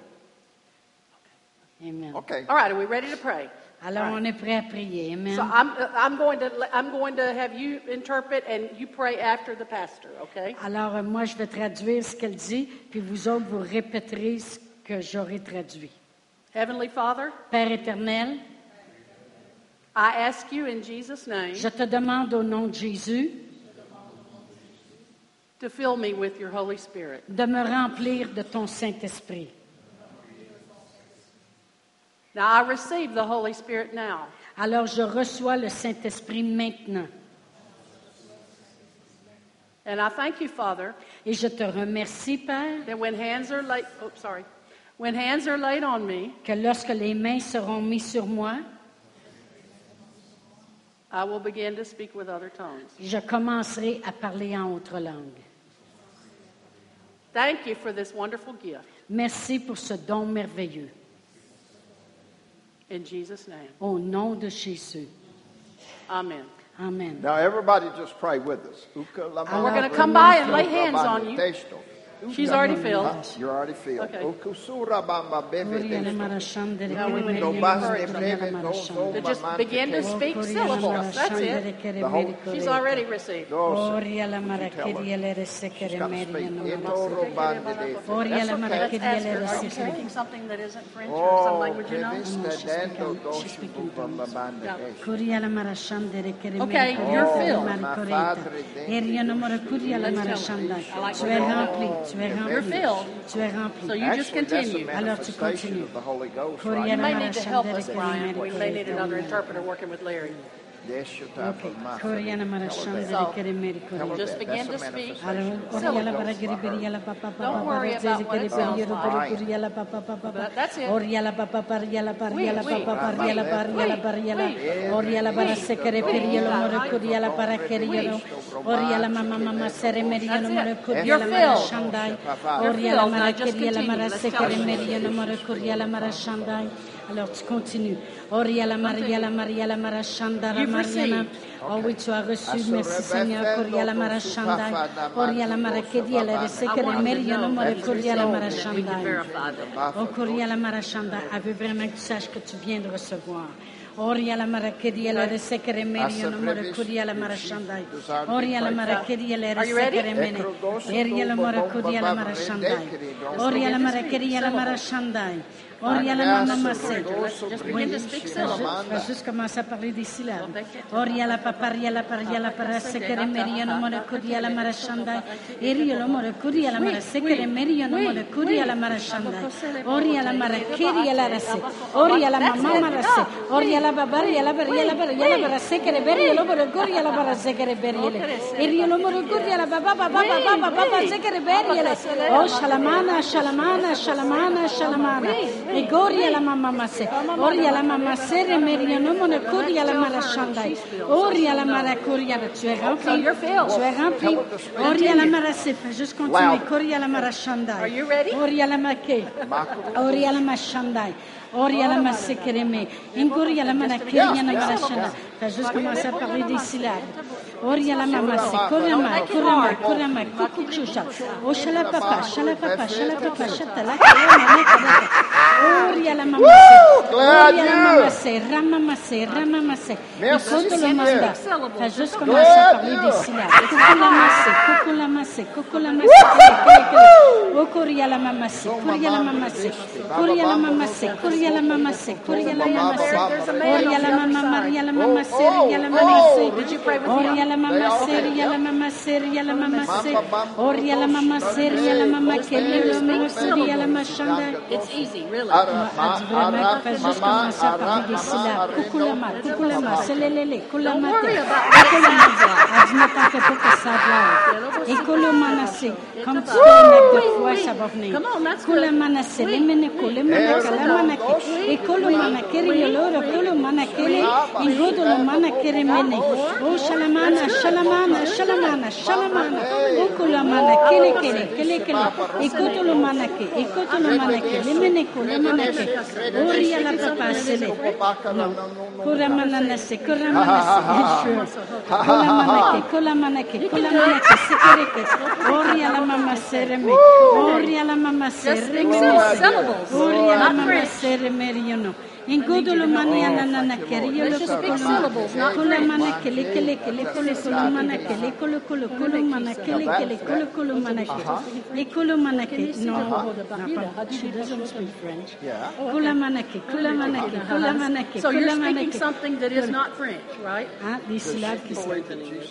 Amen. Okay. All right, are we ready to pray? Alors, on est prêt à prier. Amen. So I'm, uh, I'm going to I'm going to have you interpret and you pray after the pastor, okay? Alors, euh, moi, je vais traduire ce qu'elle dit, puis vous autres, vous répéterez ce que j'aurai traduit. Heavenly Father, Père éternel, I ask you in Jesus' name je te demande au nom de Jésus to fill me with your Holy Spirit. de me remplir de ton Saint-Esprit. Now I receive the Holy Spirit now. Alors, je reçois le Saint-Esprit maintenant. And I thank you, Father, Et je te remercie, Père, that when hands are laid, oh, sorry, when hands are laid on me, que lorsque les mains seront mises sur moi, I will begin to speak with other tongues. je commencerai à parler en autre langue. Thank you for this wonderful gift. Merci pour ce don merveilleux. In Jesus' name, Au nom de Jésus. amen. Amen. Now, everybody just pray with us. And we're going to come by and lay hands on you. She's already filled. You're already filled. Okay. Now To just begin to speak syllables. That's it. She's already received. Let's ask her, are you speaking something that isn't French or some language you know? Okay, you're filled. Tu es rempli, tu es You're rempli, filled. tu es rempli. So you just continue. Alors tu continues. You may need to help us, Brian. We may need another interpreter working with Larry. Just begin to speak syllables. Don't worry about what it sounds like. But that's it. Oria la mama mama sere meria no mara kuria You're la mara filled. shandai. You're Oria la filled. mara Now just keria la continue. mara Let's tell sekere us. meria no mara kuria la mara shandai. Alors tu continues. Oria la maria la maria la mara shandara You've mariana. received. Oh oui, tu as reçu. Merci Seigneur. Kuria la mara shandai. Oria la mara keria la I sekere want you to meria no know mara that kuria la mara we can shandai. verify them. Oh kuria la mara shandai. Elle veut vraiment que tu saches que tu viens de recevoir. Oria la marakedia la sekere meria no mora kuria la marashandai. Oria la marakedia la sekere mene. Eria la mora kuria la marashandai. Oria la marakedia la marashandai. Oria la mama masse. Just begin to speak syllables. On va juste commencer à parler des syllabes. Oria la paparia la paria la para sekere meria no mora kuria la marashandai. Eria la mora kuria la mara sekere meria no mora kuria la marashandai. Oria la marakedia la rase. Oria la mama marase. Oria la babaria la baria la baria la bara sekere beria lo mora kuria la bara sekere beria. Eria lo mora kuria la baba baba baba baba sekere beria. Oh shalamana shalamana shalamana shalamana. E goria la mamma masse, oria la mamma sere meria no mona coria la mara shandai, oria la mara coria, tu es rempli, tu es rempli, oria la mara se, juste continuer, coria la mara shandai, oria la make, oria la mashandai. Oria la masse kereme, ingoria la mana keria na mara shandai. T'as juste commencé à parler des syllabes. Oria la mama se, korama, korama, korama, kukuchusha. O shala papa, shala papa, shala papa, shatala, Oria la mama se, oria la mama se, ramama se, ramama se. Écoute le manda. T'as juste commencé à parler des syllabes. Kukula masse, kukula masse, kukula masse. O koria la mama se, koria la mama se, koria la mama se, koria la mama se, koria la mama se. Oria la mama, Maria la mama se, ria la mama se. Oria la mama se, ria la mama se, ria la mama se. Oria la mama se, ria la mama keria la mama se, ria la machanda. It's easy, really. Elle dit vraiment qu'il fait juste commencer à parler des syllabes. Kukulama, kukulama, selelele, kulamate, kukulama. Elle dit ne t'en fais pas que ça blague. Et kulumanase, comme tu fais un acte de foi, ça va venir. Kulamanase, lemeneko, lemeneka, lamanake. Et kulumanake, rioloro, kulumanakele, ingodo manakere mene. Oh, shalamana, shalamana, shalamana, shalamana. Oh, kulamana, kele, kele, kele, kele. Et kotulumanake, et kotulumanake, lemeneko, lemanake. Oria la papa sele. Non. Kuramananase, kuramanase. Kulamanake, kulamanake, kulamanake, sekereke. Oria la mama sereme. Oria la mama sereme. Oria la mama sereme riono. Ingodo lo mani anana kerio lo kolo. Kula mana kele kele kele kolo kolo mana kele kolo kolo kolo mana kele kele kolo kolo mana kele. Kolo mana kele. No, no, she doesn't speak French. Kula mana kele, kula mana kele, kula mana kele. So you're speaking something that is not French, right? Ah, des syllabes qui sont.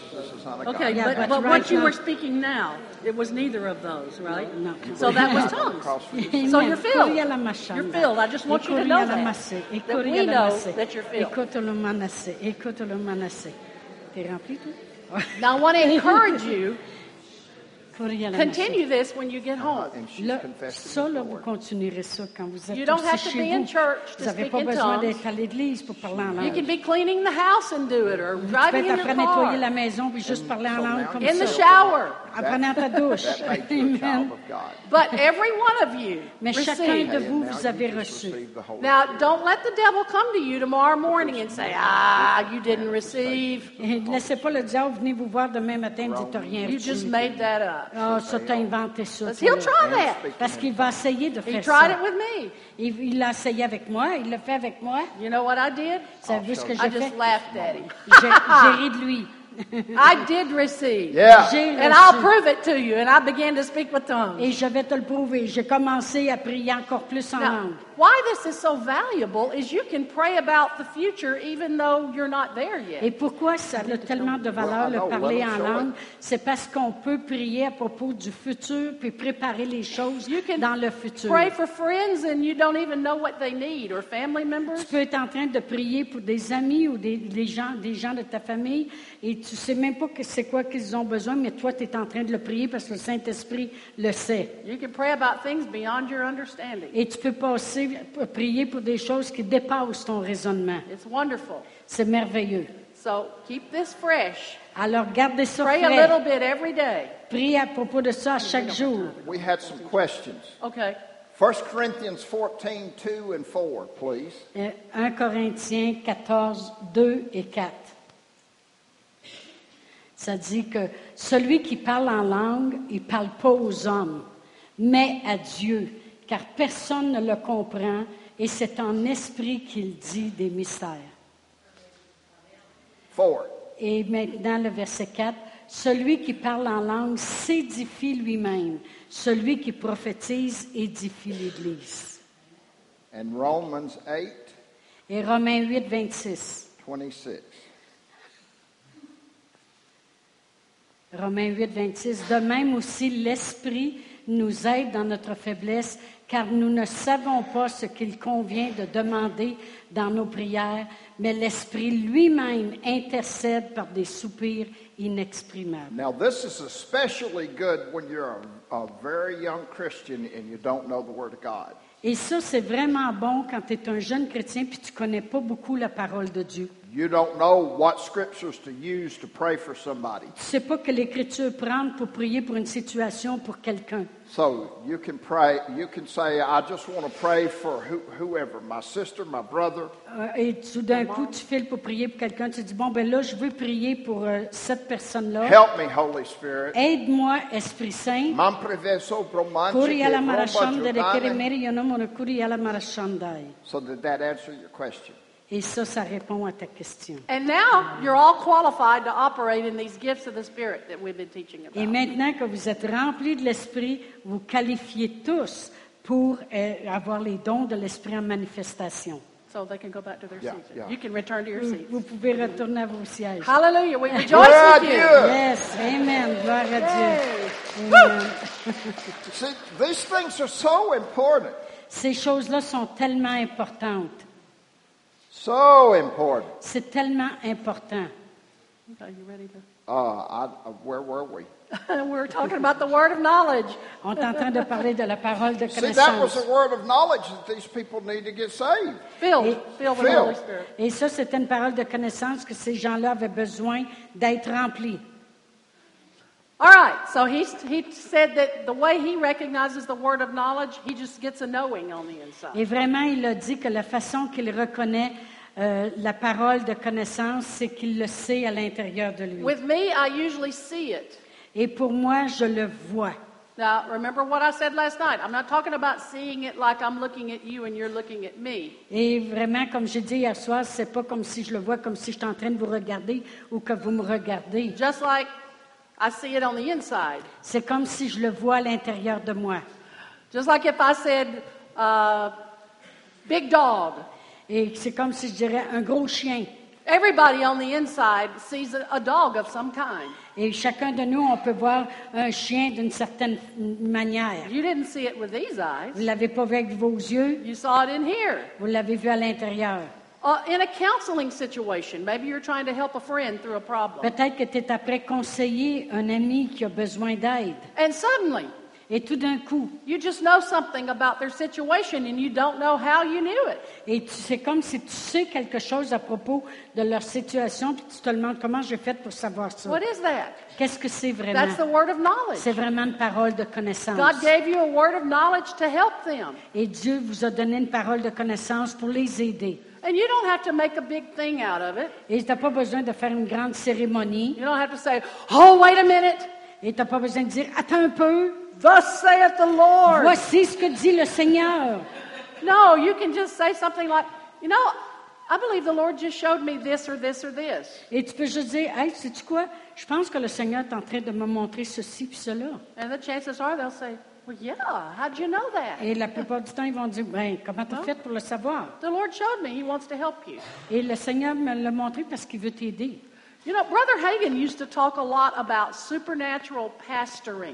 Okay, Yeah, but, but but right what you now- were speaking now, it was neither of those, right? No. So that was tongues. So you're filled. Koria la mashanda. You're filled. I just want you to know Koria la that. masse. Et That koria we la know masse. that you're filled. Écoute le manassé. Écoute le manassé. T'es rempli tout? Now I want to encourage you, Koria la masse. continue this when you get home. And she's Là, confessed to ça, the là, vous Lord. continuerez ça quand vous êtes You don't aussi have to chez be in vous. church to Vous n'avez speak pas in besoin tongues. d'être à l'église pour parler en You langue. can be cleaning the house and do it, or Tu peux driving être in en train your de nettoyer la car, maison puis juste parler en langue comme in the ça. shower. En prenant ta douche. That makes you a child Amen. of God. But every one of you Mais chacun receive. de And vous, now vous you avez just reçu. receive the Holy Now, don't let the devil come to you tomorrow morning and say, ah, you didn't receive. Et ne laissez pas le diable venir vous voir demain matin et dire t'as rien You reçu. just made that up. Ah, ça t'a inventé ça. Because toi, he'll là. try that. Parce qu'il va essayer de He faire tried ça. it with me. Il il l'a essayé avec moi, il l'a fait avec moi. You know what I did? Savez-vous ce que I j'ai fait? just laughed at him. J'ai j'ai ri de lui. I did receive. Yeah. J'ai And I'll reçu. prove it to you. And I began to speak with tongues. Et je vais te le prouver. J'ai commencé à prier encore plus en Now, langue. why this is so valuable is you can pray about the future even though you're not there Et yet. pourquoi ça a tellement de valeur, Well, I le know. parler Let 'em en show langue? C'est parce qu'on peut prier à propos du futur puis préparer les choses You can dans le futur. pray for friends and you don't even know what they need, or family members. Tu peux être en train de prier pour des amis ou des, des gens, des gens de ta famille et tu sais même pas que c'est quoi qu'ils ont besoin, mais toi, tu es en train de le prier parce que le Saint-Esprit le sait. You can pray about things beyond your understanding. Et tu peux passer, prier pour des choses qui dépassent ton raisonnement. It's wonderful. C'est merveilleux. So keep this fresh. Alors, gardez ça Pray a frais. little bit every day. Priez à propos de ça chaque jour. We had some questions. Okay. First Corinthians fourteen, two and four, please. Euh, un Corinthiens quatorze, deux et quatre. Ça dit que celui qui parle en langue, il ne parle pas aux hommes, mais à Dieu, car personne ne le comprend, et c'est en esprit qu'il dit des mystères. Four. Et maintenant, le verset quatre. Celui qui parle en langue s'édifie lui-même. Celui qui prophétise édifie l'Église. And Romans eight, Et Romains huit, vingt-six. twenty-six. Romains huit, vingt-six. De même aussi, l'Esprit nous aide dans notre faiblesse, car nous ne savons pas ce qu'il convient de demander dans nos prières, mais l'Esprit lui-même intercède par des soupirs inexprimables. Now, this is especially good when you're a, a very young Christian and you don't know the Word of God. Et ça, c'est vraiment bon quand tu es un jeune chrétien puis tu ne connais pas beaucoup la parole de Dieu. You don't know what scriptures to use to pray for somebody. Tu ne sais pas quelle écriture prendre pour prier pour une situation, pour quelqu'un. So you can pray, you can say, I just want to pray for who, whoever, my sister, my brother. Euh, et tout d'un coup, tu files pour prier pour quelqu'un. Tu dis, bon, ben là, je veux prier pour euh, cette personne-là. Help me, Holy Spirit. Aide-moi, Esprit Saint. Man preveso bromanche Kuri ala ke marashandere bromba kere giudane. meri yonomoro kuri ala marashandai. So did that answer your question? Et ça, ça répond à ta question. And now you're all qualified to operate in these gifts of the Spirit that we've been teaching Et about. maintenant que vous êtes remplis de l'Esprit, vous qualifiez tous pour euh, avoir les dons de l'Esprit en manifestation. So they can go back to their Yeah, seats. yeah. You can return to your Vous, seats. vous pouvez retourner à vos sièges. Hallelujah. We rejoice Gloire à with you. Dieu. Yes, Amen. Gloire à Dieu. Yay. Amen. See, these things are so important. Ces choses-là sont tellement importantes. So important. C'est tellement important. Okay, you ready to? Uh, I, uh, where were we? We're talking about the word of knowledge. On est en train de parler de la parole de See, that was connaissance. a word of knowledge that these people need to get saved. Filled, Et- filled with the Filled. Holy Spirit. Et ça, c'était une parole de connaissance que ces gens-là avaient besoin d'être remplis. All right, so he, he said that the way he recognizes the word of knowledge, he just gets a knowing on the inside. Et vraiment, il a dit que la façon qu'il reconnaît euh, la parole de connaissance, c'est qu'il le sait à l'intérieur de lui. With me, I usually see it. Et pour moi, je le vois. Now, remember what I said last night. I'm not talking about seeing it like I'm looking at you and you're looking at me. Et vraiment, comme j'ai dit hier soir, c'est pas comme si je le vois, comme si j'étais en train de vous regarder ou que vous me regardez. Just like I see it on the inside. C'est comme si je le vois à l'intérieur de moi. Just like if I said, uh, big dog. Et c'est comme si je dirais un gros chien. Everybody on the inside sees a, a dog of some kind. Et chacun de nous, on peut voir un chien d'une certaine manière. You didn't see it with these Vous eyes. ne l'avez pas vu avec vos yeux, You saw it in here. vous l'avez vu à l'intérieur. Uh, in a counseling situation, maybe you're trying to help a friend through a problem. Peut-être que tu es après conseiller un ami qui a besoin d'aide. And suddenly, Et tout d'un coup, you just know something about their situation and you don't know how you knew it. et tu- c'est comme si tu sais quelque chose à propos de leur situation, puis tu te demandes comment j'ai fait pour savoir ça. What is that? Qu'est-ce que c'est vraiment? That's the word of knowledge. C'est vraiment une parole de connaissance. God gave you a word of knowledge to help them. Et Dieu vous a donné une parole de connaissance pour les aider. And you don't have to make a big thing out of it. Et tu n'as pas besoin de faire une grande cérémonie. You don't have to say, oh, wait a minute. Et tu n'as pas besoin de dire, attends un peu, Thus saith the Lord. voici ce que dit le Seigneur. No, you can just say something like, you know, I believe the Lord just showed me this or this or this. Et tu peux juste dire, hey, sais-tu quoi? Je pense que le Seigneur est en train de me montrer ceci puis cela. And the chances are they'll say, well, yeah, how'd you know that? Et la plupart du temps, ils vont dire, ben, comment tu as fait pour le savoir? The Lord showed me. He wants to help you. Et le Seigneur me l'a montré parce qu'il veut t'aider. You know, Brother Hagin used to talk a lot about supernatural pastoring.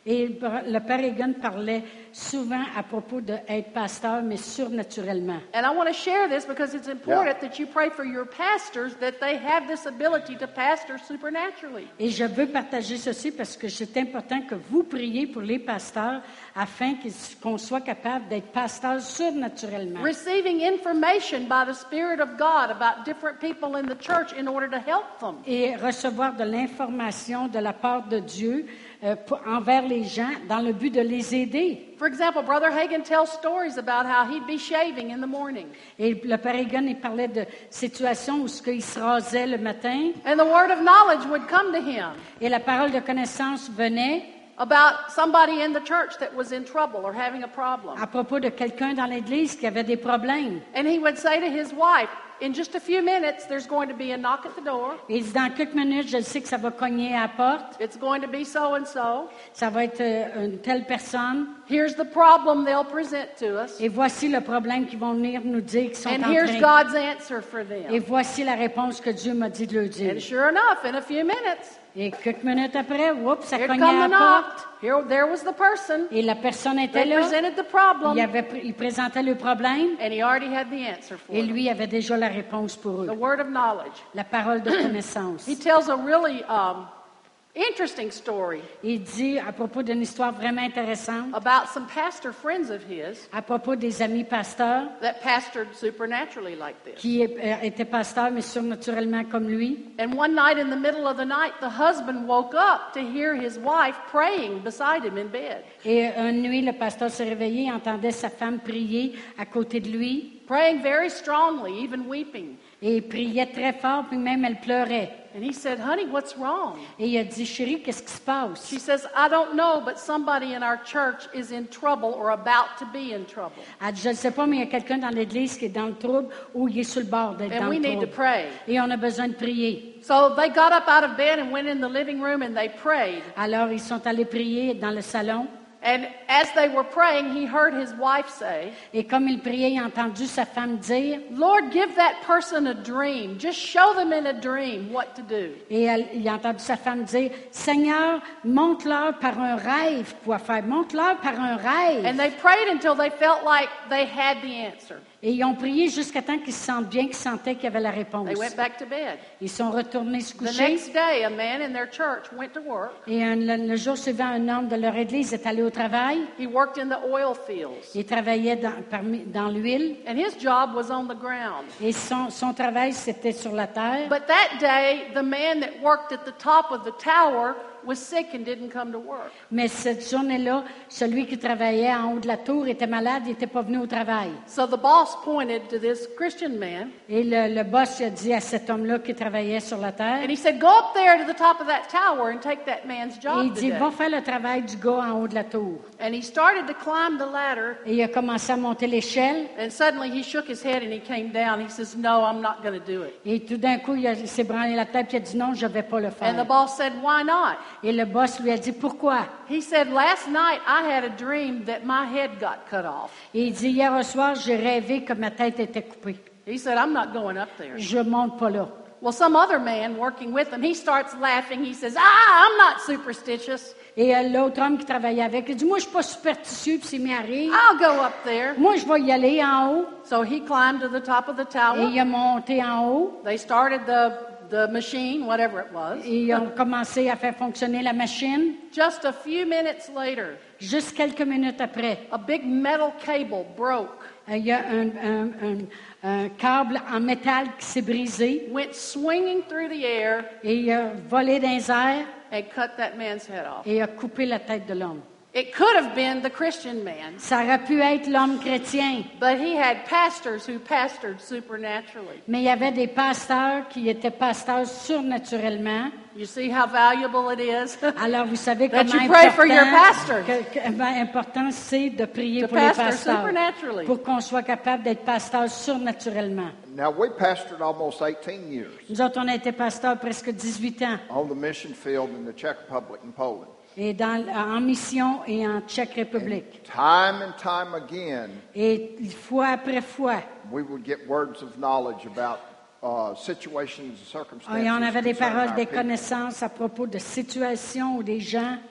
Et le Père Egan parlait souvent à propos d'être pasteur, mais surnaturellement. And I want to share this because it's important that you pray for your pastors that they have this ability to pastor supernaturally. Et je veux partager ceci parce que c'est important que vous priez pour les pasteurs afin qu'ils- qu'on soit capable d'être pasteurs surnaturellement. Receiving information by the Spirit of God about different people in the church in order to help them. Et recevoir de l'information de la part de Dieu euh, pour- envers les gens dans le but de les aider. For example, Brother Hagin tells stories about how he'd be shaving in the morning. Et le Père Egan, il parlait de situations où ce qu'il se rasait le matin And the word of knowledge would come to him et la parole de connaissance venait about somebody in the church that was in trouble or having a problem. à propos de quelqu'un dans l'Église qui avait des problèmes. And he would say to his wife, in just a few minutes, there's going to be a knock at the door. Et il dit, dans quelques minutes, je sais que ça va cogner à la porte, It's going to be so and so. ça va être euh, une telle personne, Here's the problem they'll present to us. et voici le problème qu'ils vont venir nous dire qu'ils sont And en here's train. God's answer for Et them. voici la réponse que Dieu m'a dit de le dire. And sure enough, in a few minutes, Et quelques minutes après, oups, ça here cognait come à the la knock. porte. Here, there was the person. Et la personne était They là. presented the Il, problem, avait, il présentait le problème and he already had the answer for et it. lui avait déjà la réponse pour The eux. word of knowledge. La parole de connaissance. He tells a really um, interesting story Il dit à propos d'une histoire vraiment intéressante, about some pastor friends of his à propos des amis pasteurs that pastored supernaturally like this. qui euh, étaient pasteurs, mais surnaturellement comme lui. And one night in the middle of the night, the husband woke up to hear his wife praying beside him in bed. Et une nuit, le pasteur s'est réveillé, entendait sa femme prier à côté de lui. Praying very strongly, even weeping. Et il priait très fort, puis même elle pleurait. And he said, honey, what's wrong? Et il a dit, chérie, qu'est-ce qui se passe? She says, I don't know, but somebody in our church is in trouble or about to be in trouble. Elle dit, je ne sais pas, mais il y a quelqu'un dans l'Église qui est dans le trouble ou il est sur le bord d'être And dans we le need to trouble. pray. Et on a besoin de prier. So they got up out of bed and went in the living room and they prayed. Alors, ils sont allés prier dans le salon. And as they were praying, he heard his wife say, Et comme il priait, il a entendu sa femme dire, Lord, give that person a dream. Just show them in a dream what to do. et elle- il a entendu sa femme dire, Seigneur, montre-leur par un rêve quoi faire. Montre-leur par un rêve. And they prayed until they felt like they had the answer. Et ils ont prié jusqu'à temps qu'ils se sentent bien, qu'ils sentaient qu'il y avait la réponse. They went back to bed. Ils sont retournés se The coucher. next day, a man in their church went to work. Et un- le, le jour suivant, un homme de leur église est allé au travail. He worked in the oil fields. Il travaillait dans, parmi- dans l'huile. And his job was on the ground. Et son, son travail, c'était sur la terre. But that day, the man that worked at the top of the tower was sick and didn't come to work. Mais cette journée-là, celui qui travaillait en haut de la tour était malade, il n'était pas venu au travail. So the boss pointed to this Christian man Et le, le boss a dit à cet homme-là qui travaillait sur la terre, and he said, Go up there to the top of that tower and take that man's et il job dit, today. va faire le travail du gars en haut de la tour. And he started to climb the ladder, Et il a commencé à monter l'échelle. and suddenly he shook his head and he came down. He says, No, I'm not going to do it. Et tout d'un coup, il, a- il s'est branlé la tête et il a dit, non, je ne vais pas le And the faire. boss said, Why not? Et le boss lui a dit, pourquoi? He said, Last night I had a dream that my head got cut off. Et il dit, hier au soir, j'ai rêvé que ma tête était coupée. He said, I'm not going up there. Je monte pas là. Well, some other man working with him, he starts laughing. He says, Ah, I'm not superstitious. Et euh, l'autre homme qui travaillait avec, il dit, moi, je suis pas superstitieux, puis s'il m'y arrive. I'll go up there. Moi, je vais y aller en haut. So he climbed to the top of the Et tower. il a monté en haut. They started the, the machine, whatever it was. Et ils ont commencé à faire fonctionner la machine. Just a few minutes later, Juste quelques minutes après, a big metal cable broke, euh, il y a un, un- un- un câble en métal qui s'est brisé went swinging through the air, et il a volé dans les airs and cut that man's head off. et a coupé la tête de l'homme. It could have been the Christian man, Ça aurait pu être l'homme chrétien, but he had pastors who pastored supernaturally. mais il y avait des pasteurs qui étaient pasteurs surnaturellement. You see how valuable it is Alors, vous savez That comment you pray for your important, pastors. que- que- ben, important c'est de prier to pour les pastor pasteurs supernaturally. pour qu'on soit capable d'être pasteur surnaturellement. Now, we pastored almost eighteen years Nous autres, on a été pasteurs presque dix-huit ans on the mission field in the Czech Republic and Poland. et dans, en mission et en Tchèque République. Time and time again, Et fois après fois, we would get words of knowledge about uh, situations and circumstances. et on avait des concerning paroles, our des people. connaissances à propos de situations ou des gens.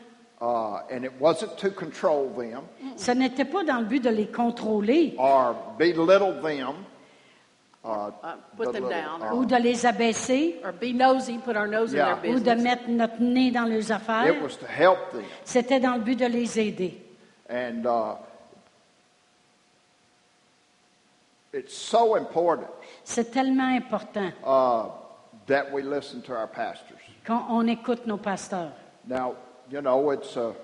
uh, and it wasn't to control them Ce n'était pas dans le but de les contrôler or belittle them. Uh, Uh, put them belittle, down. uh, ou de les abaisser Or be nosy, put our nose Yeah. in their ou de business. mettre notre nez dans leurs affaires. It was to help them. C'était dans le but de les aider. And uh, it's so important C'est tellement important uh, that we listen to our pastors. qu'on on écoute nos pasteurs. Now, you know, it's uh,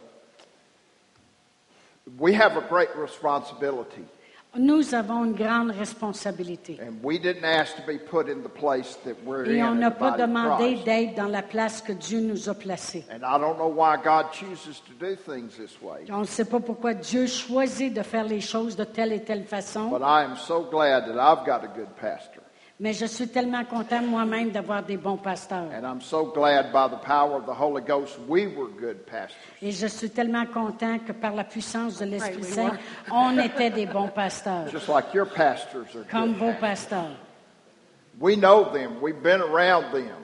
we have a great responsibility, Nous avons une grande responsabilité. and we didn't ask to be put in the place that we're Et in on in n'a the pas body of demandé Christ. d'être dans la place que Dieu nous a placée. And I don't know why God chooses to do things this way, On ne sait pas pourquoi Dieu choisit de faire les choses de telle et telle façon, but I am so glad that I've got a good pastor. mais je suis tellement content moi-même d'avoir des bons pasteurs. And I'm so glad by the power of the Holy Ghost we were good pastors. Et je suis tellement content que par la puissance de l'Esprit Right, we Saint, were. on était des bons pasteurs, Just like your pastors are comme good vos pastors. pasteurs. We know them. We've been around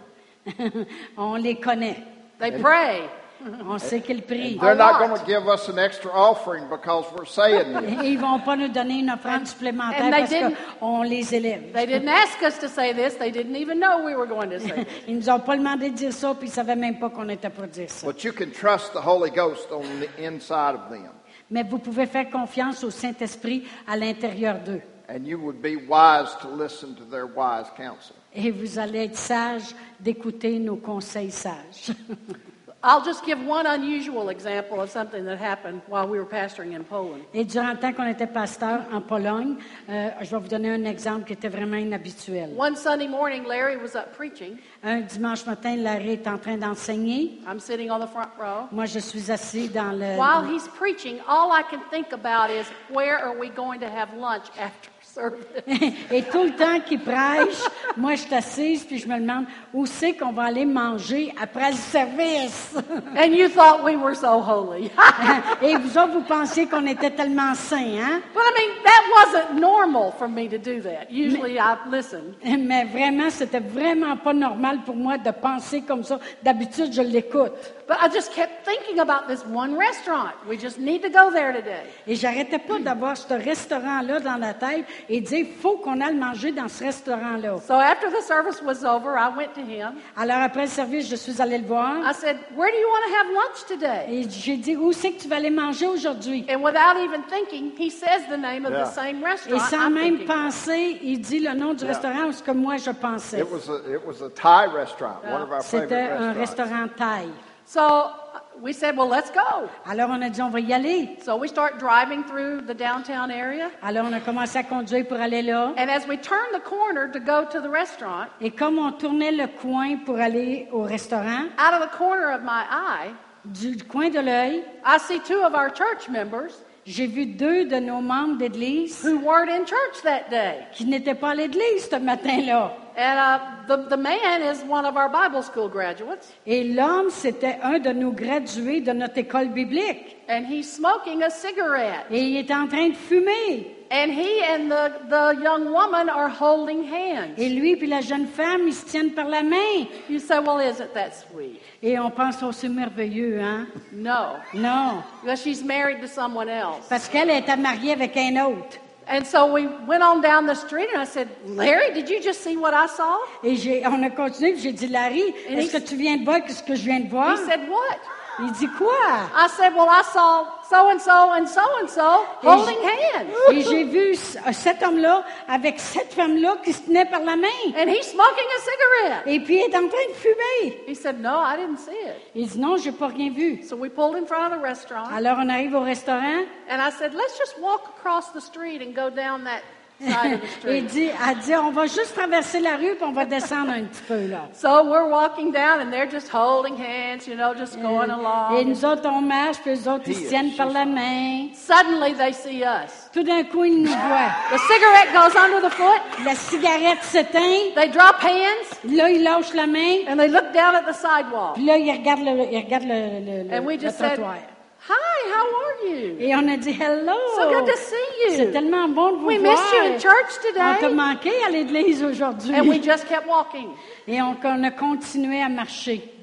them. On les connaît. They pray. On sait qu'ils prient. They're not lot. going to give us an extra offering because we're saying this. Et ils vont pas nous donner une offrande supplémentaire and they parce didn't- qu'on les élève. They didn't ask us to say this. They didn't even know we were going to say this. Ils nous ont pas demandé de dire ça, puis ils savaient même pas qu'on était pour dire ça. But you can trust the Holy Ghost on the inside of them. Mais vous pouvez faire confiance au Saint-Esprit à l'intérieur d'eux. And you would be wise to listen to their wise counsel. Et vous allez être sage d'écouter nos conseils sages. I'll just give one unusual example of something that happened while we were pastoring in Poland. Et durant le temps qu'on était pasteur en Pologne, euh, je vais vous donner un exemple qui était vraiment inhabituel. One Sunday morning, Larry was up preaching. Un dimanche matin, Larry est en train d'enseigner. I'm sitting on the front row. Moi, je suis assis dans le... While he's preaching, all I can think about is where are we going to have lunch after service? Et tout le temps qu'il prêche, moi, je suis assise, puis je me demande où c'est qu'on va aller manger après le service. And you thought we were so holy. Et vous autres, vous pensiez qu'on était tellement saints, hein? But I mean, that wasn't normal for me to do that. Usually I listen. Mais vraiment, c'était vraiment pas normal pour moi de penser comme ça. D'habitude, je l'écoute. But I just kept thinking about this one restaurant. We just need to go there today. Et j'arrêtais pas d'avoir ce restaurant-là dans la tête et de dire, faut qu'on aille manger dans ce restaurant-là. So after the service was over, I went to him. Alors, après le service, je suis allée le voir. I said, where do you want to have lunch today? Et j'ai dit, où c'est que tu vas aller manger aujourd'hui? And without even thinking, he says the name of Yeah. the same Et restaurant sans I'm même thinking of. penser, il dit le nom du Yeah. restaurant ou ce que moi je pensais. It was a, it was a Thai restaurant, one of our favorite C'était un restaurants. restaurant thaï. So uh, we said, well, let's go. Alors, on a dit, on va y aller. So we start driving through the downtown area. Alors, on a commencé à conduire pour aller là. And as we turn the corner to go to the restaurant, Et comme on tournait le coin pour aller au restaurant, out of the corner of my eye, du coin de l'œil, I see two of our church members j'ai vu deux de nos membres d'église who weren't in church that day. qui n'étaient pas à l'église ce matin-là. And uh, the, the man is one of our Bible school graduates, Et l'homme, c'était un de nos gradués de notre école biblique. and he's smoking a cigarette. Et il est en train de fumer. And he and the, the young woman are holding hands. Et lui puis la jeune femme, ils se tiennent par la main. You say, well, isn't that sweet? Et on pense, oh, c'est merveilleux, hein? No, Non, because she's married to someone else. parce qu'elle était mariée avec un autre. And so we went on down the street, and I said, Larry, did you just see what I saw? Et j'ai, on a continué, puis j'ai dit, Larry, Et est-ce il- que tu viens de voir ce que je viens de voir? He said, what? Il dit, quoi? I said, well, I saw so-and-so and so-and-so Et holding j'ai- hands. Et j'ai vu c- cet homme-là avec cette femme-là qui se tenait par la main. And he's smoking a cigarette. Et puis, il est en train de fumer. He said, no, I didn't see it. Il dit, non, j'ai pas rien vu. So we pulled in front of the restaurant, Alors, on arrive au restaurant. and I said, let's just walk across the street and go down that side of the Et street. dit, elle dit, on va juste traverser la rue, puis on va descendre un petit peu, là. So we're walking down, and they're just holding hands, you know, just going Et along. nous autres, on marche, puis les autres, ils se tiennent par la main. Suddenly, they see us. Tout d'un coup, ils nous voient. The cigarette goes under the foot. La cigarette s'éteint. They drop hands, Là, ils lâchent la main. and they look down at the sidewalk. Puis là, ils regardent le, ils regardent le, le, le, And we le just said, trottoir. hi, how are you? Et on a dit, hello. So good to see C'est you. tellement bon de vous We voir. missed you in church On t'a today. manqué à l'église aujourd'hui. And we just kept walking. Et on, on a continué à marcher.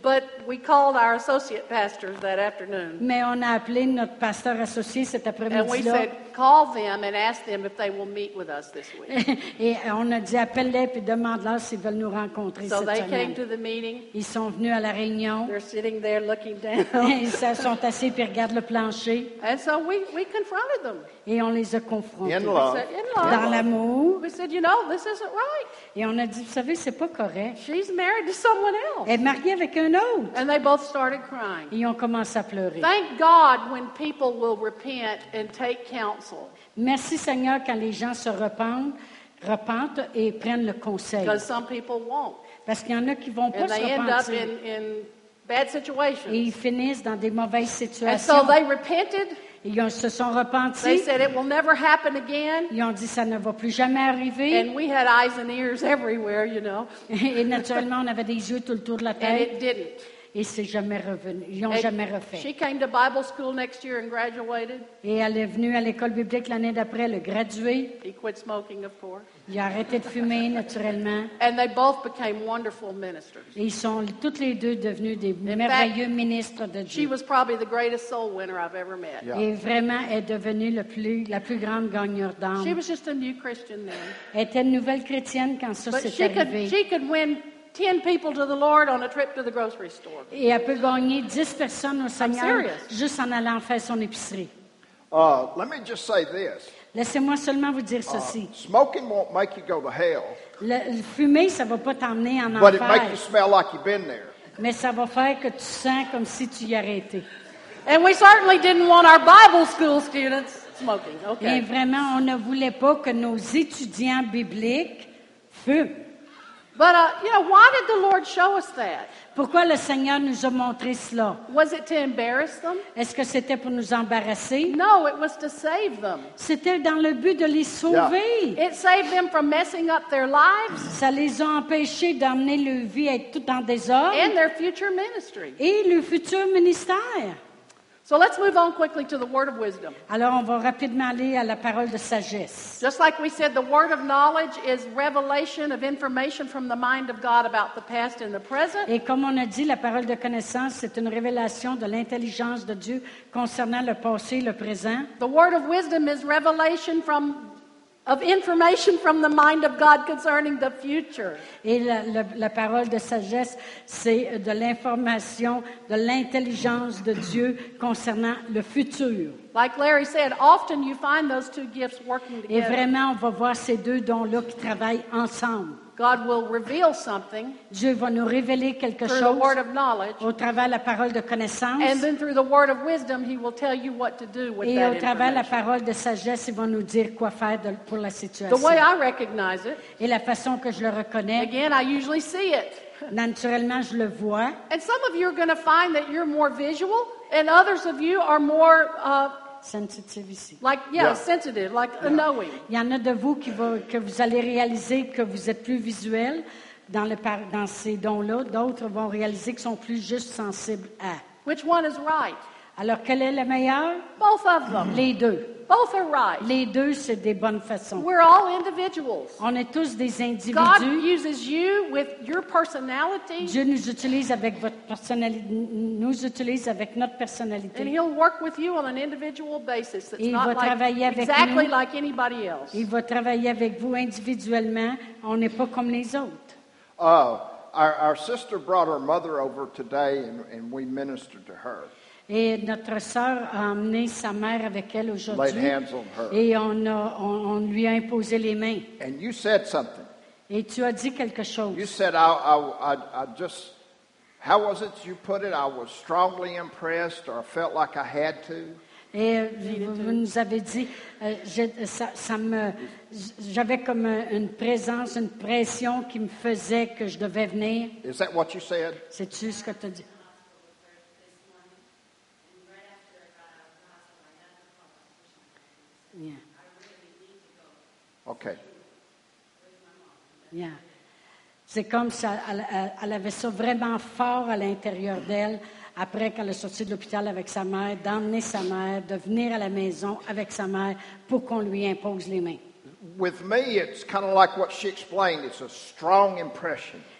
But we called our associate pastors that afternoon. Mais on a appelé notre pasteur associé cet And we après-midi-là. said, call them and ask them if they will meet with us this week. Et on a dit, appelle-les puis demande-leur s'ils veulent nous rencontrer So cette they came semaine. to the meeting. Ils sont venus à la réunion. They're sitting there looking down. Ils se sont assis puis regardent le plancher. And so we, we confronted them. Et on les a confrontés. In We love. said, in Dans love. l'amour. We said, you know, this isn't right. Et on a dit, vous savez, c'est pas correct. She's married to someone else. Elle est mariée avec un autre. And they both started crying. Ils ont commencé à pleurer. Thank God when people will repent and take counsel. Merci Seigneur quand les gens se repentent, repentent et prennent le conseil. Because some people won't. Parce qu'il y en a qui vont pas And se they end up repentir. in, in bad Et situations. ils finissent dans des mauvaises And so situations. they repented. Ils ont- se sont They repentis. said it will never happen again. Ils ont dit ça ne va plus jamais arriver. And we had eyes and ears everywhere, you know. Et naturellement, on avait des yeux tout le tour de la And tête. it didn't. Et c'est jamais revenu. Ils n'ont And jamais she refait. came to Bible school next year and graduated. Et elle est venue à l'école biblique l'année d'après, elle a gradué. He quit smoking, of course. Il a arrêté de fumer naturellement. And they both became wonderful ministers. Et ils sont toutes les deux devenus des merveilleux ministres de She Dieu. was probably the greatest soul winner I've ever met. Yeah. Et vraiment, elle est devenue le plus, la plus grande gagneur She d'âme. was just a new Christian then. Elle était une nouvelle chrétienne quand ça But s'est she could, arrivé. she could win ten people to the Lord on a trip to the grocery store. Et elle peut gagner dix personnes au Seigneur serious. juste en allant faire son épicerie. Uh, let me just say this. Laissez-moi seulement vous dire Uh, ceci. smoking won't make you go to hell, Le, le fumer, ça va pas t'emmener en but it make you enfer, smell like you've been there. mais ça va faire que tu sens comme si tu y aurais été. And we certainly didn't want our Bible school students smoking. Et Okay. vraiment, on ne voulait pas que nos étudiants bibliques fument. But, uh, you know, why did the Lord show us that? Pourquoi le Seigneur nous a montré cela? Was it to embarrass them? Est-ce que c'était pour nous embarrasser? No, it was to save them. C'était dans le but de les sauver. It saved them from messing up their lives Ça les a empêchés d'emmener leur vie à être tout en désordre and their future ministry. et le futur ministère. So let's move on quickly to the word of wisdom. Alors, on va rapidement aller à la parole de sagesse. Just like we said, the word of knowledge is revelation of information from the mind of God about the past and the present. Et comme on a dit, la parole de connaissance, c'est une révélation de l'intelligence de Dieu concernant le passé et le présent. The word of wisdom is revelation from of information from the mind of God concerning the future. Et la, la- la parole de sagesse, c'est de l'information, de l'intelligence de Dieu concernant le futur. Like Larry said, often you find those two gifts working Et together. vraiment, on va voir ces deux dons-là qui travaillent ensemble. God will reveal something Dieu va nous révéler quelque through the chose word of knowledge, au travers de la parole de connaissance. and then through the word of wisdom, He will tell you what to do with Et that au travers de la information. parole de sagesse, il va nous dire quoi faire de- pour la The situation. way I recognize it, Et la façon que je le reconnais, again, I usually see it. naturellement, je le vois. And some of you are going to find that you're more visual, and others of you are more, uh, Sensitive ici. like, yeah, Yeah. sensitive, like a knowing. Il y en a de vous qui va, que vous allez réaliser que vous êtes plus visuel dans, le, par- dans ces dons-là. D'autres vont réaliser qu'ils sont plus juste sensibles à. Which one is right? Alors, quel est le meilleur? Both of them. Les deux. Both are right. Les deux, c'est des bonnes façons. We're all individuals. On est tous des God individus. uses you with your personality, Dieu nous utilise avec votre personnalité, nous utilise avec notre and personnalité. He'll work with you on an individual basis. That's Et il not va like, travailler avec exactly nous. like anybody else. Il va travailler avec vous individuellement. On n'est pas comme les autres. Uh, our, our sister brought her mother over today, and, and we ministered to her. Et notre sœur a emmené sa mère avec elle Laid aujourd'hui. hands on her. Et on, a, on, on lui a imposé les mains. And you said something. Et tu as dit quelque chose. You said, I, I, I, I just, how was it you put it? I was strongly impressed, or I felt like I had to. Et euh, vous, vous nous avez dit, euh, je- ça, ça me, j'avais comme un- une présence, une pression qui me faisait que je devais venir. Is that what you said? C'est-tu ce que tu as dit? Yeah, Okay. yeah. C'est comme ça, elle, elle- elle avait ça vraiment fort à l'intérieur d'elle, après qu'elle est sortie de l'hôpital avec sa mère, d'emmener sa mère, de venir à la maison avec sa mère pour qu'on lui impose les mains. With me, it's kind of like what she explained. It's a strong impression.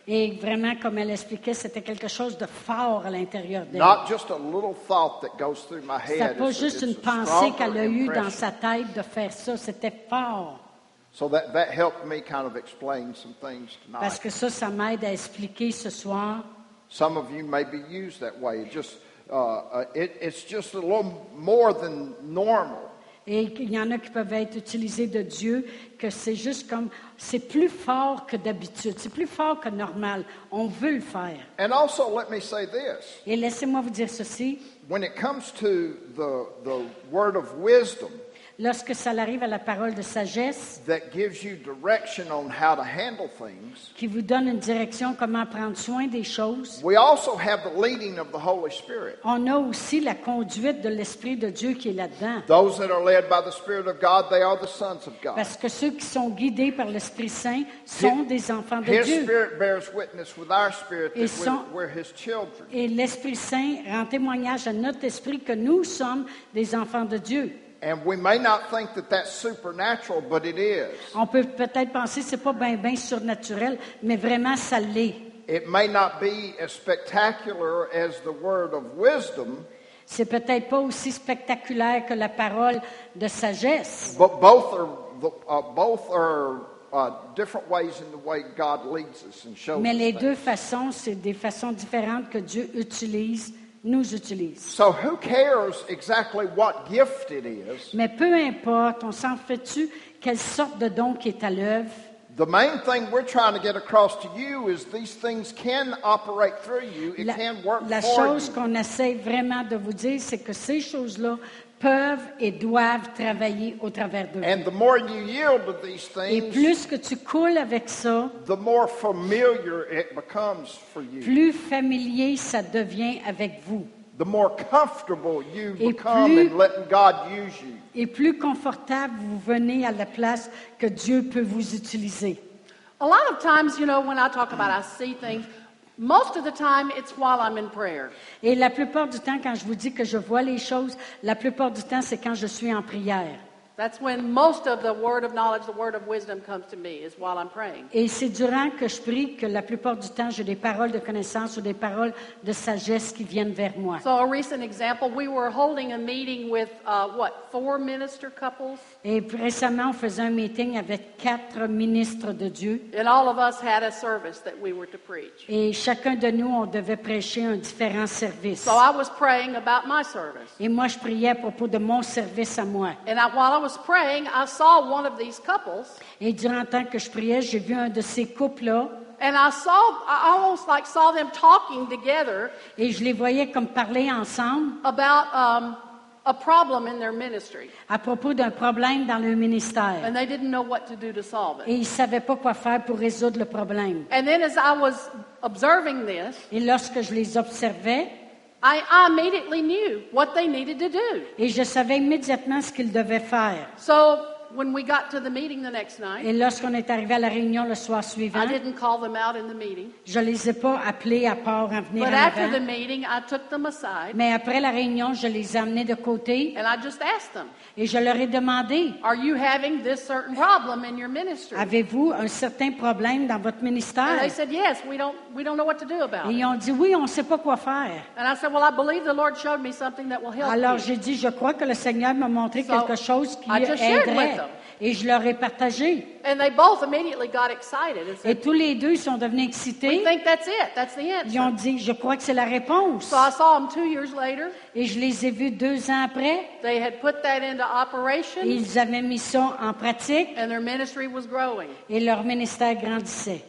Et vraiment, comme elle expliquait, c'était quelque chose de fort à l'intérieur d'elle. Not just a little thought that goes through my C'était head. pas It's a- juste it's une a pensée stronger qu'elle a eue dans impression. sa tête de faire ça, c'était fort. So that, that helped me kind of explain some things Parce tonight. que ça, ça m'aide à expliquer ce soir. Some of you may be used that way. It just, uh, uh, it, it's just a little more than normal. Et il y en a qui peuvent être utilisés de Dieu, que c'est juste comme, c'est plus fort que d'habitude, c'est plus fort que normal. On veut le faire. And also, let me say this. Et laissez-moi vous dire ceci, When it comes to the, the word of wisdom lorsque ça arrive à la parole de sagesse, that gives you direction on how to handle things, qui vous donne une direction comment prendre soin des choses, we also have the leading of the Holy Spirit. on a aussi la conduite de l'Esprit de Dieu qui est là-dedans. Those that are led by the Spirit of God, they are the sons of God. Parce que ceux qui sont guidés par l'Esprit Saint sont des enfants de His Dieu. Spirit bears witness with our spirit Et that sont- we're, we're His children. Et l'Esprit Saint rend témoignage à notre esprit que nous sommes des enfants de Dieu. And we may not think that that's supernatural, but it is. On peut peut-être penser que ce n'est pas bien bien surnaturel, mais vraiment ça l'est. It may not be as spectacular as the word of wisdom, C'est peut-être pas aussi spectaculaire que la parole de sagesse, but both are the, uh, both are uh, different ways in the way God leads us and shows mais us les things. deux façons, c'est des façons différentes que Dieu utilise, nous utilise. So who cares exactly what gift it is? Mais peu importe, on s'en fait-tu quelle sorte de don qui est à l'œuvre? The main thing we're trying to get across to you is these things can operate through you. It La, can work la for chose you. qu'on essaie vraiment de vous dire, c'est que ces choses-là peuvent et doivent travailler au travers de vous. And the more you yield to these Et things, plus que tu coules avec ça, the more familiar it becomes for you. plus familier ça devient avec vous. The more comfortable you Et become plus- in letting God use you. Et plus confortable vous venez à la place que Dieu peut vous utiliser. A lot of times, you know, when I talk about I see things, most of the time it's while I'm in prayer. Et la plupart du temps, quand je vous dis que je vois les choses, la plupart du temps, c'est quand je suis en prière. That's when most of the word of knowledge, the word of wisdom comes to me, is while I'm praying. Et c'est durant que je prie que la plupart du temps, j'ai des paroles de connaissance ou des paroles de sagesse qui viennent vers moi. So a recent example, we were holding a meeting with, uh, what, four minister couples? Et récemment, on faisait un meeting avec quatre ministres de Dieu. And all of us had a service that we were to preach. Et chacun de nous, on devait prêcher un différent service. So I was praying about my service. Et moi, je priais à propos de mon service à moi. And I, while I was praying, I saw one of these couples, Et durant le temps que je priais, j'ai vu un de ces couples-là. and I saw, I almost like saw them talking together Et je les voyais comme parler ensemble about um, a problem in their ministry. à propos d'un problème dans le ministère. And they didn't know what to do to solve Et it. ils ne savaient pas quoi faire pour résoudre le problème. And then as I was observing this, Et lorsque je les observais, I, I immediately knew what they needed to do. et je savais immédiatement ce qu'ils devaient faire. So when we got to the meeting the next night, Et lorsqu'on est arrivé à la réunion le soir suivant, I didn't call them out in the meeting. je ne les ai pas appelés à part en venir But en after the avant. meeting, I took them aside Mais après la réunion, je les ai amenés de côté and I just asked them, et je leur ai demandé, are you having this certain problem in your ministry? avez-vous un certain problème dans votre And ministère? they said, yes, we don't, we don't know what to do about Et it. ils ont dit, oui, on ne sait pas quoi faire. And I said, well, I believe the Lord showed me something that will help Alors you. j'ai dit, je crois que le Seigneur m'a montré So, quelque chose qui I just shared with aiderait. them. Et je leur ai partagé. And they both immediately got excited and Et said, tous les deux ils sont devenus we excités. think that's it. That's the Ils ont answer. dit, je crois que c'est la réponse. So I saw them two years later. Et je les ai vus deux ans après. They had put that into operation, Et ils avaient mis ça en pratique. and their ministry was growing. Et leur ministère grandissait.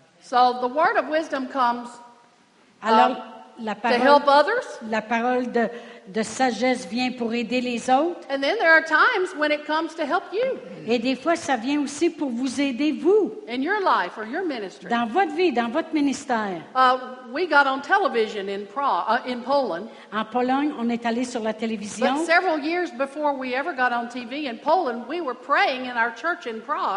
So the word of wisdom comes Alors, Um, la to parole, help others. la parole de, de sagesse vient pour aider les autres. And then there are times when it comes to help you Et des fois, ça vient aussi pour vous aider, vous, in your life or your ministry. dans votre vie, dans votre ministère. Uh, we got on television in Prague, uh, in Poland, En Pologne, on est allé sur la télévision. but several years before we ever got on T V in Poland, we were praying in our church in Prague.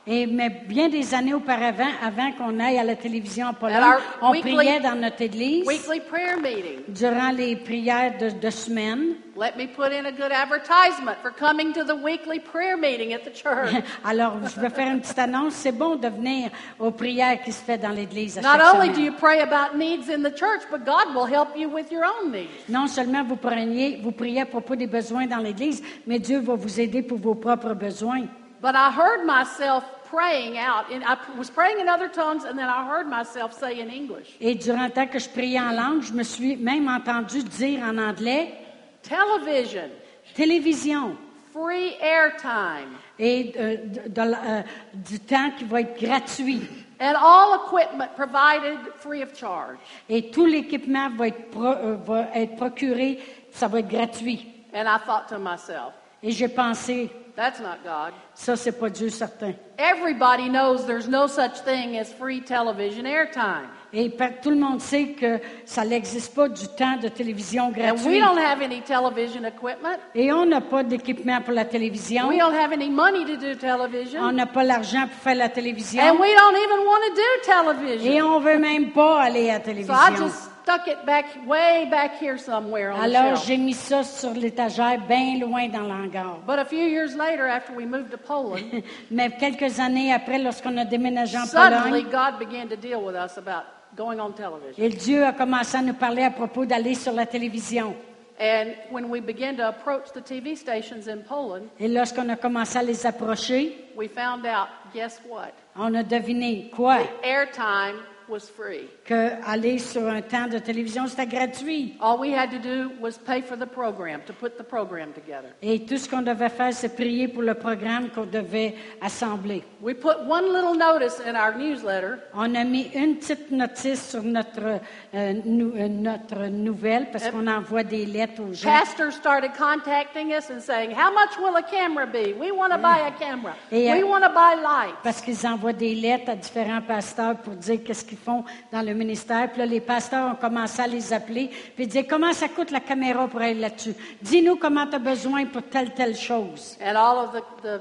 Et mais bien des années auparavant, avant qu'on aille à la télévision en Pologne, At our on weekly- priait dans notre église Weekly prayer meeting. durant les prières de, de semaine. Let me put in a good advertisement for coming to the weekly prayer meeting at the church. Alors, je vais faire une petite annonce. C'est bon de venir aux prières qui se fait dans l'église à Not chaque only do semaine. you pray about needs in the church, but God will help you with your own needs. Non seulement vous priez, vous priez à propos des besoins dans l'église, mais Dieu va vous aider pour vos propres besoins. But I heard myself praying out. And I was praying in other tongues, and then I heard myself say in English, Et durant le temps que je priais en langue, je me suis même entendu dire en anglais television, télévision free airtime, et euh, de- de la- euh, du temps qui va être gratuit. and all equipment provided free of charge. Et tout l'équipement va être, pro- euh, va être procuré, ça va être gratuit. And I thought to myself, Et j'ai pensé, that's not God. ça, c'est pas Dieu certain. Everybody knows there's no such thing as free television airtime. Et par- tout le monde sait que ça n'existe pas du temps de télévision And we gratuit. don't have any television equipment. Et on n'a pas d'équipement pour la télévision. We don't have any money to do television. On n'a pas l'argent pour faire la télévision. And we don't even want to do Et television. on veut même pas aller à la So I télévision. just stuck it back, way back here somewhere on the Alors, shelf. j'ai mis ça sur l'étagère, bien loin dans l'hangar. But a few years later, after we moved to Poland, Mais quelques années après, lorsqu'on a déménagé en suddenly Pologne, God began to deal with us about going on television. et Dieu a commencé à nous parler à propos d'aller sur la télévision. And when we began to approach the T V stations in Poland, Et lorsqu'on a commencé à les approcher, we found out, guess what? on a deviné quoi? Airtime was free. Que aller sur un temps de télévision, c'était gratuit. All we had to do was pay for the program, to put the program together. Et tout ce qu'on devait faire, c'est prier pour le programme qu'on devait assembler. We put one little notice in our newsletter, On a mis une petite notice sur notre, euh, nou- euh, notre nouvelle parce qu'on envoie des lettres aux gens. pastors started contacting us and saying, how much will a camera be? We want to buy a camera. Et, We euh, want to buy lights. Parce qu'ils envoient des lettres à différents pasteurs pour dire qu'est-ce qu'ils font dans le ministère. Puis là, les pasteurs ont commencé à les appeler puis dire comment ça coûte la caméra pour aller là-dessus. Dis-nous comment tu as besoin pour telle, telle chose. And all of the, the,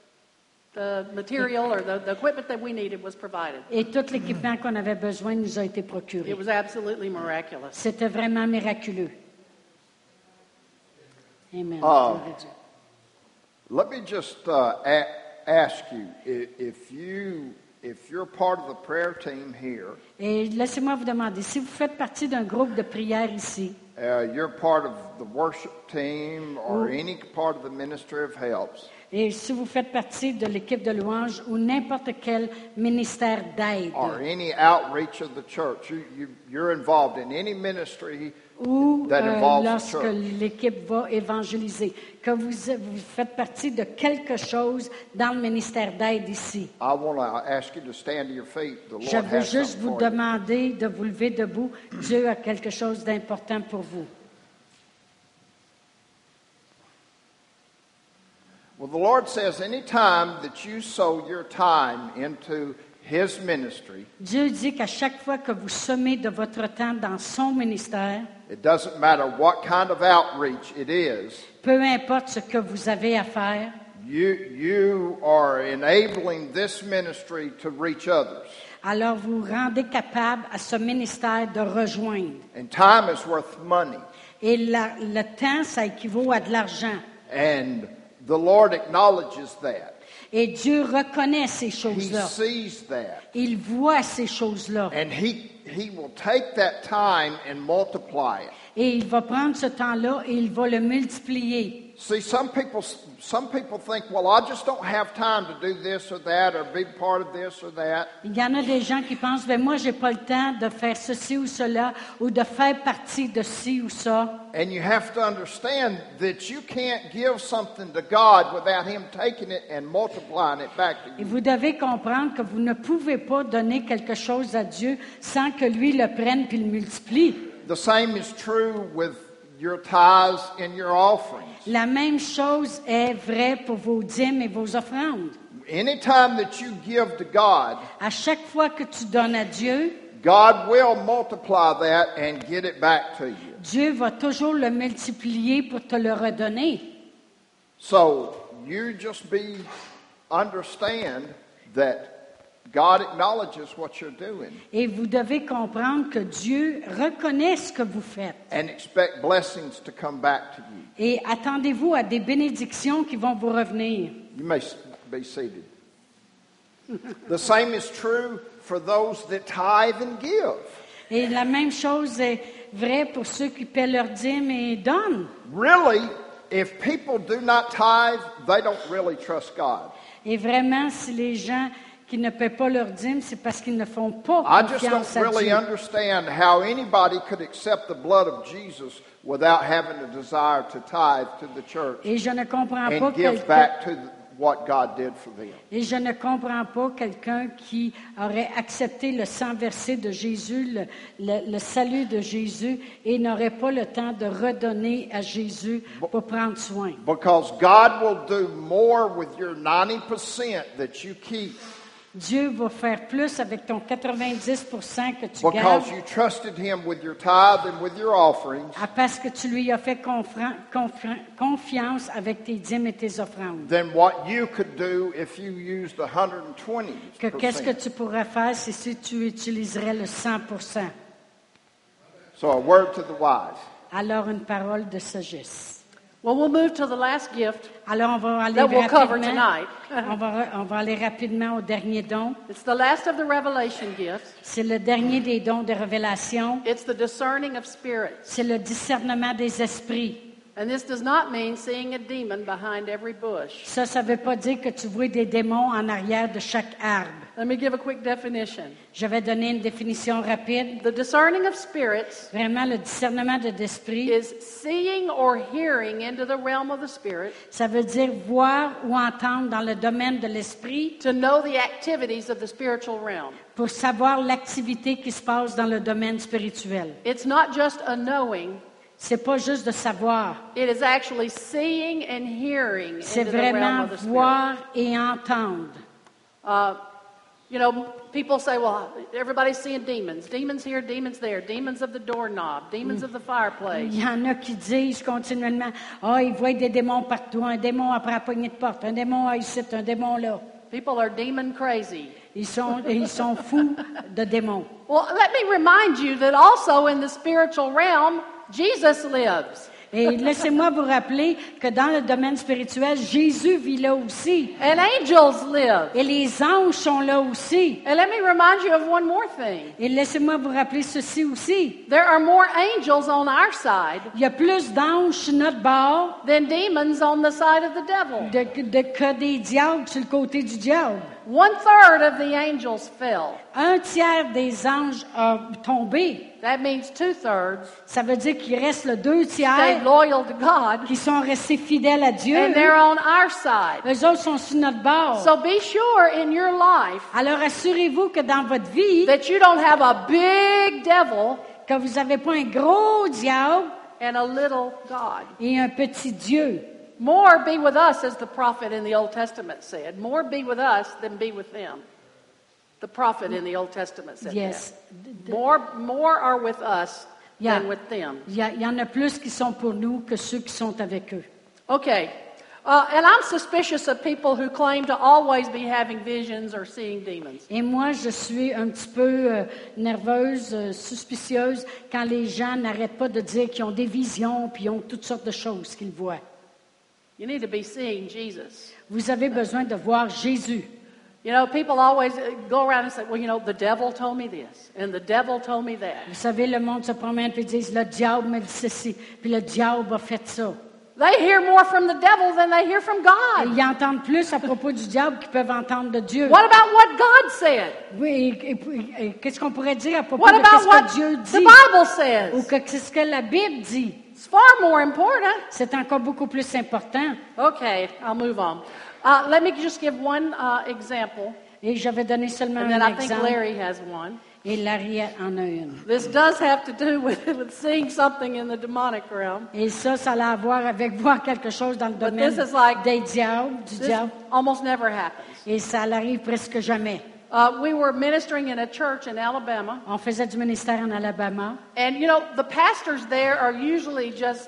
the material or the, the equipment that we needed was provided. Et tout l'équipement qu'on avait besoin nous a été It procuré. was absolutely miraculous. C'était vraiment miraculeux. Amen. Ah. Gloire à Dieu. Let me just uh, a- ask you i- if you if you're part of the prayer team here, Et laissez-moi vous demander, si vous faites partie d'un groupe de prière ici, uh, you're part of the worship team or any part of the ministry of helps. et si vous faites partie de l'équipe de louange ou n'importe quel ministère d'aide, Or any outreach of the church. You, you, you're involved in any ministry ou that euh, involves the lorsque church. l'équipe va évangéliser, que vous, vous faites partie de quelque chose dans le ministère d'aide ici. I want to ask you to stand to your feet. The Je Lord veux has juste something vous for you. demander de vous lever debout. Dieu a quelque chose d'important pour vous. Well, the Lord says any time that you sow your time into His ministry, Dieu dit qu'à chaque fois que vous semez de votre temps dans son ministère, it doesn't matter what kind of outreach it is, peu importe ce que vous avez à faire, you, you are enabling this ministry to reach others. alors vous rendez capable à ce ministère de rejoindre. And time is worth money. Et la- le temps, ça équivaut à de l'argent. And the Lord acknowledges that. Et Dieu reconnaît ces He choses-là. sees that. Il voit ces choses-là. And he, he will take that time and multiply it. Et il va prendre ce temps-là et il va le multiplier. See, some people, some people think, well, I just don't have time to do this or that or be part of this or that. Il y en a des gens qui pensent, ben moi, j'ai pas le temps de faire ceci ou cela, ou de faire partie de ci ou ça. And you have to understand that you can't give something to God without Him taking it and multiplying it back to Et you. vous devez comprendre que vous ne pouvez pas donner quelque chose à Dieu sans que lui le prenne puis le multiplie. The same is true with your tithes and your offerings. La même chose est vraie pour vos dîmes et vos offrandes. Anytime that you give to God, À chaque fois que tu donnes à Dieu, God will multiply that and get it back to you. Dieu va toujours le multiplier pour te le redonner. So you just be understand that God acknowledges what you're doing Et vous devez comprendre que Dieu reconnaît ce que vous faites. and expect blessings to come back to you. Et attendez-vous à des bénédictions qui vont vous revenir. You may s- be seated. The same is true for those that tithe and give. Et la même chose est vraie pour ceux qui paient leurs dîmes et donnent. Really, if people do not tithe, they don't really trust God. Et vraiment, si les gens qui ne paient pas leurs dîmes, c'est parce qu'ils ne font pas I just confiance don't à really Dieu. understand how anybody could accept the blood of Jesus without having a desire to tithe to the church Et je ne comprends pas and give quelqu'un. back to the, what God did for them. Et je ne comprends pas quelqu'un qui aurait accepté le sang versé de Jésus, le, le- le salut de Jésus, et n'aurait pas le temps de redonner à Jésus pour prendre soin. Because God will do more with your ninety percent that you keep Dieu va faire plus avec ton quatre-vingt-dix pour cent que tu gardes, because you trusted Him with your tithe and with your offerings à parce que tu lui as fait confra- confra- confiance avec tes dîmes et tes offrandes. than what you could do if you used one hundred twenty Que qu'est-ce que percent. tu pourrais faire si si tu utiliserais le cent pour cent? So a word to the wise. Alors une parole de sagesse. Well, we'll move to the last gift. Alors on va aller That we'll cover rapidement. tonight. on, va, re- on va aller rapidement au dernier don. It's the last of the revelation gifts. C'est le dernier des dons de révélation. It's the discerning of spirits. C'est le discernement des esprits. And this does not mean seeing a demon behind every bush. Ça, ça ne veut pas dire que tu vois des démons en arrière de chaque arbre. Let me give a quick definition. Je vais donner une définition rapide. The discerning of spirits Vraiment, le discernement de l'esprit, is seeing or hearing into the realm of the spirit ça veut dire voir ou entendre dans le domaine de l'esprit to know the activities of the spiritual realm. pour savoir l'activité qui se passe dans le domaine spirituel. It's not just a knowing, C'est pas juste de savoir, it is actually seeing and hearing c'est into the realm vraiment of the spirit. voir et entendre. Uh, you know, people say, well, everybody's seeing demons. Demons here, demons there. Demons of the doorknob, demons of the fireplace. Il y en a qui disent continuellement, ah, ils voient des démons partout, un démon après la poignée de porte, un démon ici, un démon là. People are demon crazy. Ils sont, ils sont fous de démons. Well, let me remind you that also in the spiritual realm, Jesus lives. Et laissez-moi vous rappeler que dans le domaine spirituel, Jésus vit là aussi. And angels live. Et les anges sont là aussi. And let me remind you of one more thing. Et laissez-moi vous rappeler ceci aussi. There are more angels on our side Il y a plus d'anges sur notre bord than demons on the side of the devil. de, de- que des diables sur le côté du diable. One third of the angels fell. Un tiers des anges a tombé. That means two thirds Ça veut dire qu'il reste le deux stayed tiers loyal to God, qui sont restés fidèles à Dieu. and they're on our side. Eux autres sont sur notre bord. So be sure in your life Alors assurez-vous que dans votre vie, that you don't have a big devil que vous n'avez pas un gros diable and a little God. et un petit Dieu. More be with us, as the prophet in the Old Testament said. More be with us than be with them. The prophet in the Old Testament said Yes. that. More, more are with us Yeah. than with them. Il y, a- il y en a plus qui sont pour nous que ceux qui sont avec eux. Okay. Uh, and I'm suspicious of people who claim to always be having visions or seeing demons. Et moi, je suis un petit peu euh, nerveuse, euh, suspicieuse, quand les gens n'arrêtent pas de dire qu'ils ont des visions puis ils ont toutes sortes de choses qu'ils voient. You need to be seeing Jesus. Vous avez besoin de voir Jésus. You know, people always uh, go around and say, well, you know, the devil told me this, and the devil told me that. Vous savez, le monde se promène et disent, le diable me dit ceci, puis le diable a fait ça. They hear more from the devil than they hear from Et God. ils entendent plus à propos du diable qu'ils peuvent entendre de Dieu. What about what God said? Oui, et, et- et qu'est-ce qu'on pourrait dire à propos What de about ce what que Dieu the dit Bible ou says? que qu'est-ce que la Bible dit? It's far more important. C'est encore beaucoup plus important. Okay, I'll move on. Uh, let me just give one uh, example, Et je vais donner seulement and then un I think exemple. Larry has one. Et Larry en a une. This does have to do with, with seeing something in the demonic realm. Et ça, ça a à voir avec voir quelque chose dans le But domaine this is like- des diables, du This diable. almost never happens. Et ça arrive presque jamais. Uh, we were ministering in a church in Alabama, On faisait du ministère en Alabama. and you know, the pastors there are usually just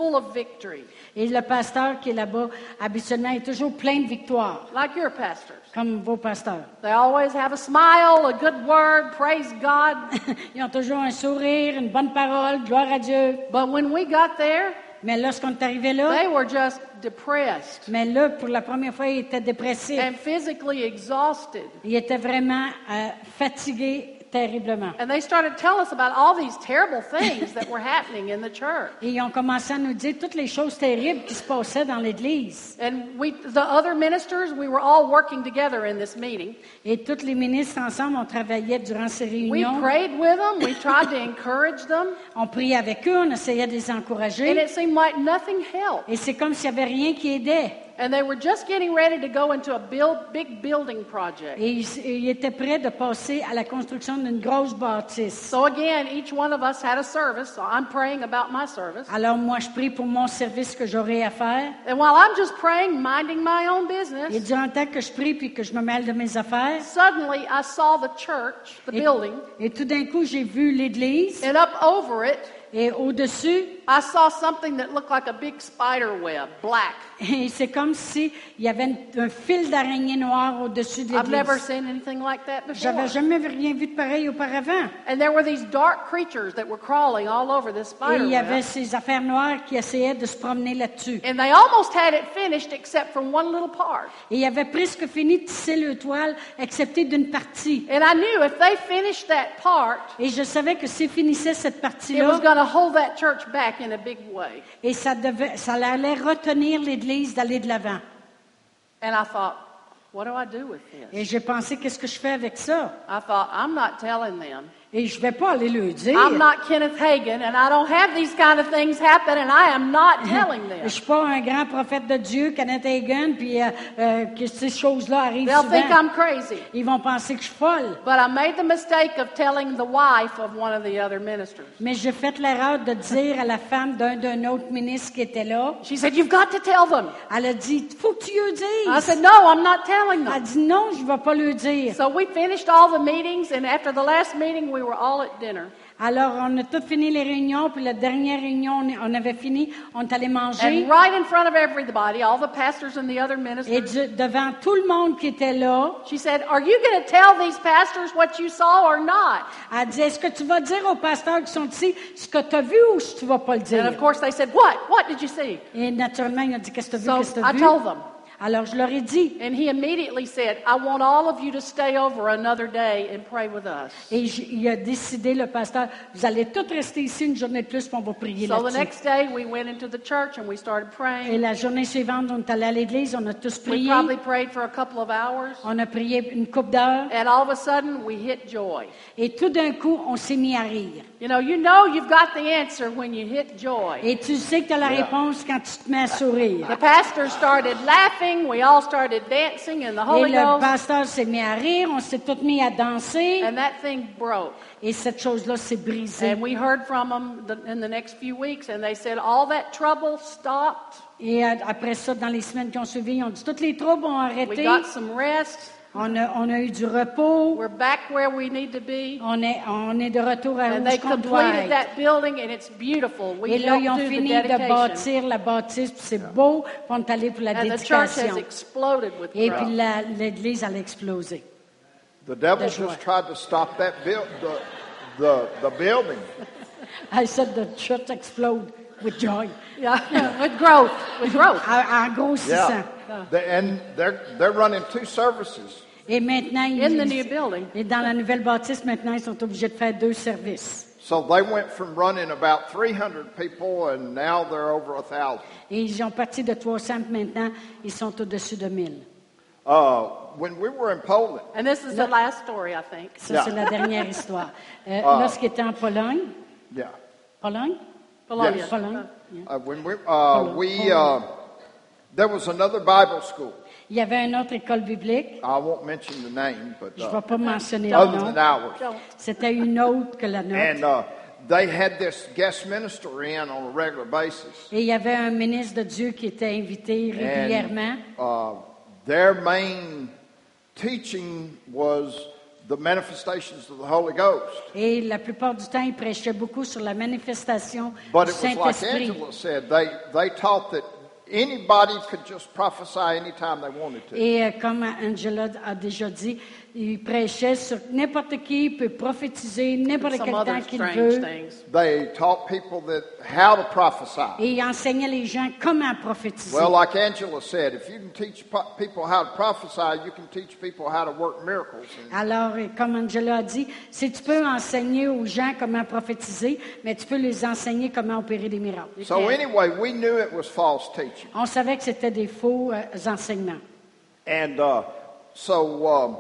full of victory, Et le pasteur qui est là-bas, habituellement, est toujours plein de victoires, like your pastors. comme vos pasteurs. They always have a smile, a good word, praise God. Ils ont toujours un sourire, une bonne parole, gloire à Dieu. But when we got there, Mais lorsqu'on est arrivé là, they were just depressed mais là, pour la première fois, il était dépressif. and physically exhausted. Il était vraiment euh, fatigué terriblement. And they started telling us about all these terrible things that were happening in the church. Et ils ont commencé à nous dire toutes les choses terribles qui se passaient dans l'Église. And we, the other ministers, we were all working together in this meeting. Et tous les ministres ensemble, on travaillait durant ces We réunions. prayed with them. We tried to encourage them. On priait avec eux, on essayait de les And encourager. it seemed like nothing helped. Et c'est comme s'il n'y avait rien qui aidait. And they were just getting ready to go into a build, big building project. Et ils, ils étaient prêts de passer à la construction d'une grosse bâtisse. So again, each one of us had a service. So I'm praying about my service. Alors moi, je prie pour mon service que j'aurai à faire. And while I'm just praying, minding my own Et business, durant le temps que je prie puis que je me mêle de mes affaires, suddenly I saw the church, the et, building, et tout d'un coup, j'ai vu l'Église. and up over it, Et au-dessus, I saw something that looked like a big spider web, black. et c'est comme si il y avait une- un fil d'araignée noire au-dessus de I've never l'Église. seen anything like that J'avais before. jamais vu rien vu de pareil auparavant. And there were these dark creatures that were crawling all over this Et spider il y avait web. ces affaires noires qui essayaient de se promener là-dessus. And they almost had it finished except from one little part. Et il avait presque fini de tisser le toile, excepté d'une partie. And I knew if they finished that part, Et je savais que s'ils finissaient cette it partie-là, was going to hold that church back in a big way. et ça, devait, ça allait retenir l'Église d'aller de l'avant. And I thought, what do I do with Et this? j'ai pensé, qu'est-ce que je fais avec ça? I thought, I'm not telling them. Et je vais pas aller le dire. I'm not Kenneth Hagin, and I don't have these kind of things happen, and I am not telling Je them. suis pas un grand prophète de Dieu, Kenneth Hagin, puis euh, euh, que ces choses-là arrivent They'll think souvent. I'm crazy. Ils vont penser que je suis folle. But I made the mistake of telling the wife of one of the other ministers. Mais j'ai fait l'erreur de dire à la femme d'un d'un autre ministre qui était là, She said, "You've got to tell them." elle a dit, faut que tu le I dises. said, "No, I'm not telling Elle a them." dit, non, je ne vais pas le dire. So we finished all the meetings, and after the last meeting, we were all at dinner. Alors, on a tout fini les réunions, puis la dernière réunion, on est- on avait fini, on est allé manger. And right in front of everybody, all the pastors and the other Et ministers, du- devant tout le monde qui était là, she said, "Are you going to tell these pastors what you saw or not?" elle dit, est-ce que tu vas dire aux pasteurs qui sont ici ce que tu as vu ou si tu vas pas le And of dire? course, they said, "What? What did you see?" Et naturellement, il a dit, qu'est-ce que tu as vu, So qu'est-ce que tu as I vu? told them. Alors, je leur ai dit. And he immediately said, "I want all of you to stay over another day and pray with us." Et j- il a décidé, le pasteur, vous allez tous rester ici une journée de plus, puis on va prier So the là-dessus. next day, we went into the church and we started Et praying. la journée suivante, on est allé à l'église, on a tous We prié. probably prayed for a couple of hours. On a prié une couple d'heures. And all of a sudden, we hit joy. Et tout d'un coup, on s'est mis à rire. You know, you know you've got the answer when you hit joy. Et tu sais que tu as la réponse quand tu te mets à sourire. The pastor started laughing. We all started dancing in the Et Holy le Ghost. pasteur s'est mis à rire, on s'est tous mis à danser. And that thing broke. Et cette chose-là s'est brisée. And we heard from them the, in the next few weeks, and they said all that trouble stopped. Et euh, après ça, dans les semaines qui ont suivi, ils ont dit, tous les troubles ont We arrêté. got some rest. On a, on a eu du repos. We're back where we need to be. On est, on est de retour à And où they ce qu'on doit completed être. that building, and it's beautiful. We Et là, ils ont helped do the fini de dedication. bâtir la bâtisse, puis c'est beau, puis on est allé pour la And the church has dédication. exploded with Et growth. puis la- l'église, elle a explosé. The devil That's right. just tried to stop that build, the, the, the building. I said the church explode with joy. Yeah, with growth, with growth. En, en grossissant. Yeah. The- and they're, they're running two services. Et maintenant, ils, In the new building. et dans la nouvelle bâtisse, maintenant, ils sont obligés de faire deux services. So they went from running about three hundred people, and now they're over a thousand. Et ils ont parti de trois cents, puis maintenant, ils sont au-dessus de mille. Uh, when we were in Poland, And this is the last story, I think. Ça, Yeah. c'est la dernière histoire. Euh, Ah. Lorsqu'il était en Pologne, yeah, Pologne? Polonia. Yes. Pologne. Yeah. uh, when we uh, we uh, there was another Bible school. Il y avait une autre école biblique. I won't mention the name, but Je ne uh, vais pas mentionner le other nom. than ours, Don't. C'était une autre que la nôtre. and uh, they had this guest minister in on a regular basis. Et il y avait un ministre de Dieu qui était invité régulièrement. And uh, their main teaching was the manifestations of the Holy Ghost. Et la plupart du temps, il prêchait beaucoup sur la manifestation But du it was like Saint-Esprit. Angela said, they, they taught that anybody could just prophesy anytime they wanted to. Et euh, comme Angela a déjà dit, il prêchait sur n'importe qui peut prophétiser n'importe Some quel other temps qu'il strange veut. things. They taught people that how to prophesy. Et il enseignait les gens comment prophétiser. Well, like Angela said, if you can teach po- people how to prophesy, you can teach people how to work miracles. And Alors, euh, comme Angela a dit, si tu peux enseigner aux gens comment prophétiser, mais tu peux les enseigner comment opérer des miracles. so anyway, we knew it was false teaching. On savait que c'était des faux euh, enseignements. And uh, so, um,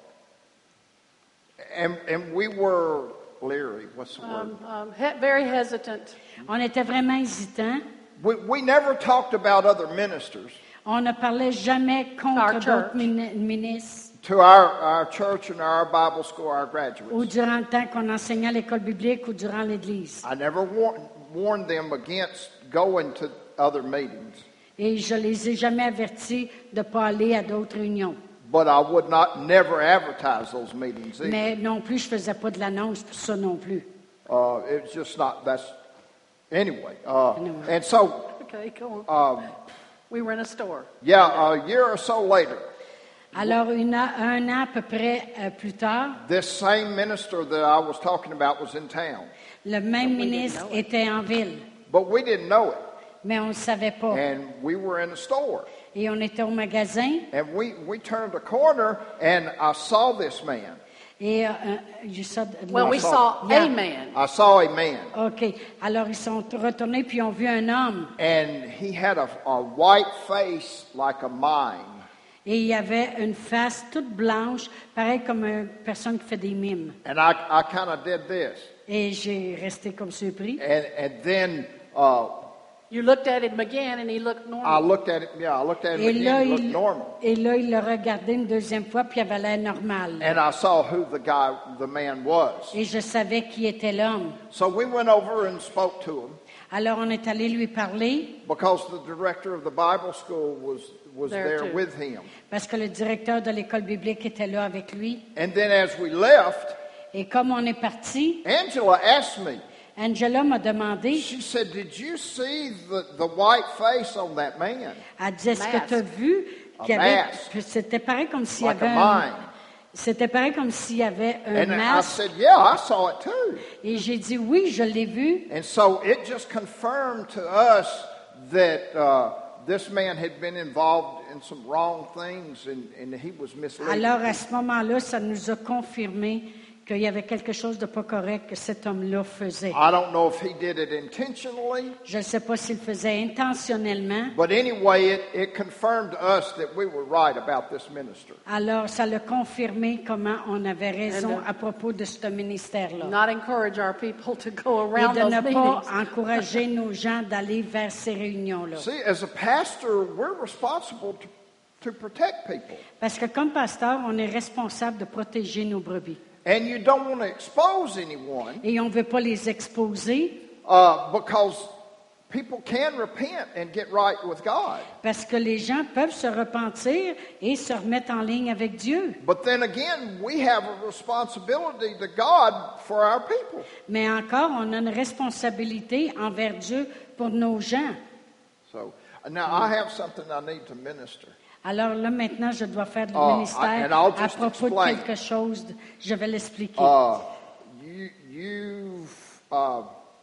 and, and we were leery. What's the word? Um, um, he- very hesitant. On était vraiment hésitants. We, we never talked about other ministers On ne parlait jamais Our contre church. d'autres mini- ministres. to our, our church and our Bible school, our Ou graduates. durant le temps qu'on enseignait à l'école biblique ou durant l'Église. I never war- warned them against going to other meetings, Et je les ai jamais avertis de ne pas aller à d'autres réunions. but I would not never advertise those meetings either. Mais non plus, je faisais pas de l'annonce pour ça non plus. Uh, it's just not, that's, anyway. Uh, Anyway. and so, Okay, go on. um, We were in a store. yeah, a year or so later, Alors, une a- un an à peu près euh, plus tard, this same minister that I was talking about was in town, le même ministre était en ville, but we didn't know it. mais on ne savait pas. And we were in a store, Et on était au magasin, and we, we turned a corner, and I saw this man. et euh, you saw- Well, we saw Yeah. a man. I saw a man, OK. Alors, ils sont retournés, puis ils ont vu un homme. and he had a, a white face like a mime. Et il y avait une face toute blanche, pareil comme une personne qui fait des mimes. And I, I kind of did this. Et j'ai resté comme surpris. And, and then uh, You looked at him again, and he looked I normal. looked at it, yeah, I looked at him Et là, again, he looked il, normal. et là, il l'a regardé une deuxième fois, puis il avait l'air normal. And I saw who the guy, the man was. Et je savais qui était l'homme. So we went over and spoke to him Alors, on est allé lui parler, because the director of the Bible school was, was There there too. with him. parce que le directeur de l'école biblique était là avec lui. And then as we left, Et comme on est parti, Angela asked me, Angela m'a demandé, she said, did you see the, the white face on that man? elle dit, est-ce que Mask. tu as vu qu'il y A avait... mask. que C'était pareil comme s'il y Like avait a un... mime. C'était pareil comme s'il y avait un And I masque. said, yeah, I saw it too. Et j'ai dit, oui, je l'ai vu. And so it just confirmed to us that uh, this man had been involved in some wrong things and, and he was misleading. Alors, à ce moment-là, ça nous a confirmé qu'il y avait quelque chose de pas correct que cet homme-là faisait. I don't know if he did it intentionally, Je ne sais pas s'il le faisait intentionnellement. but anyway, it, it confirmed to us that we were right about this minister. Alors, ça l'a confirmé comment on avait raison And, uh, à propos de ce ministère-là. Not encourage our people to go Et around de those ne pas meetings. encourager nos gens d'aller vers ces réunions-là. See, as a pastor, we're responsible to, to protect people. Parce que comme pasteur, on est responsable de protéger nos brebis. And you don't want to expose anyone Et on ne veut pas les exposer uh, because people can repent and get right with God. parce que les gens peuvent se repentir et se remettre en ligne avec Dieu. But then again, we have a responsibility to God for our people. Mais encore, on a une responsabilité envers Dieu pour nos gens. So now I have something I need to minister. Alors là, maintenant, je dois faire du Ah, ministère and I'll à just propos explain. de quelque chose. de- je vais l'expliquer. Uh, you, you've, uh,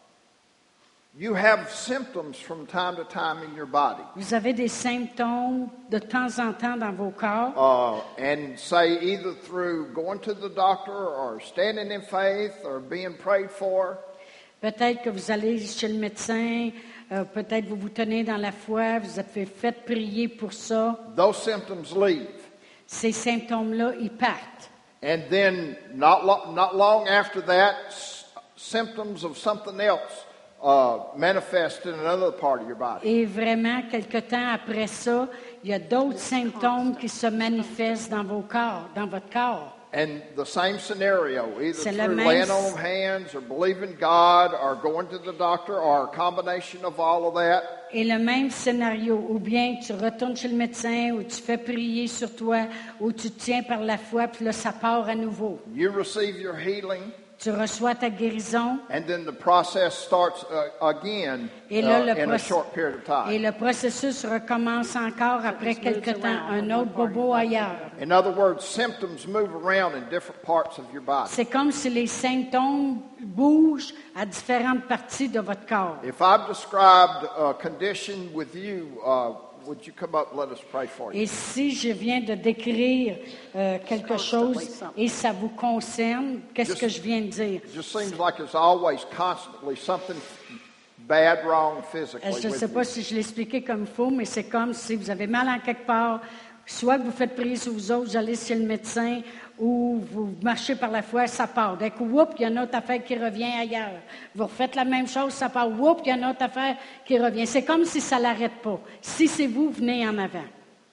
you have symptoms from time to time in your body. Vous avez des symptômes de temps en temps dans vos corps. Uh, and say either through going to the doctor or standing in faith or being prayed for. Peut-être que vous allez chez le médecin, euh, peut-être vous vous tenez dans la foi, vous avez fait prier pour ça. Those symptoms leave. Ces symptômes-là, ils partent. And then not, lo- not long after that, s- symptoms of something else uh, manifest in another part of your body. Et vraiment, quelque temps après ça, il y a d'autres symptômes qui se manifestent dans vos corps, dans votre corps. And the same scenario, either C'est le through même- laying on of hands or believing God or going to the doctor or a combination of all of that. Et le même scénario, ou bien tu retournes chez le médecin, ou tu fais prier sur toi, ou tu te tiens par la foi, puis là, ça part à nouveau. You receive your healing, Tu reçois ta guérison, and then the process starts uh, again Et là, uh, le in a proc- short period of time. et le processus recommence encore après quelque temps, un autre bobo ailleurs. In other words, symptoms move around in different parts of your body. C'est comme si les symptômes bougent à différentes parties de votre corps. If I've described a condition with you, uh, would you come up and let us pray for you? Et si je viens de décrire euh, quelque chose et ça vous concerne, qu'est-ce que je viens de dire? It just seems like there's always constantly something bad, wrong physically Euh, Je ne with sais you. pas si je l'ai expliqué comme il faut, mais c'est comme si vous avez mal en quelque part, soit que vous faites prier sur vous autres, vous allez chez le médecin, ou vous marchez par la foi, ça part. D'un coup, whoop, il y a une autre affaire qui revient ailleurs. Vous refaites la même chose, ça part, whoop, il y a une autre affaire qui revient. C'est comme si ça ne l'arrête pas. Si c'est vous, venez en avant.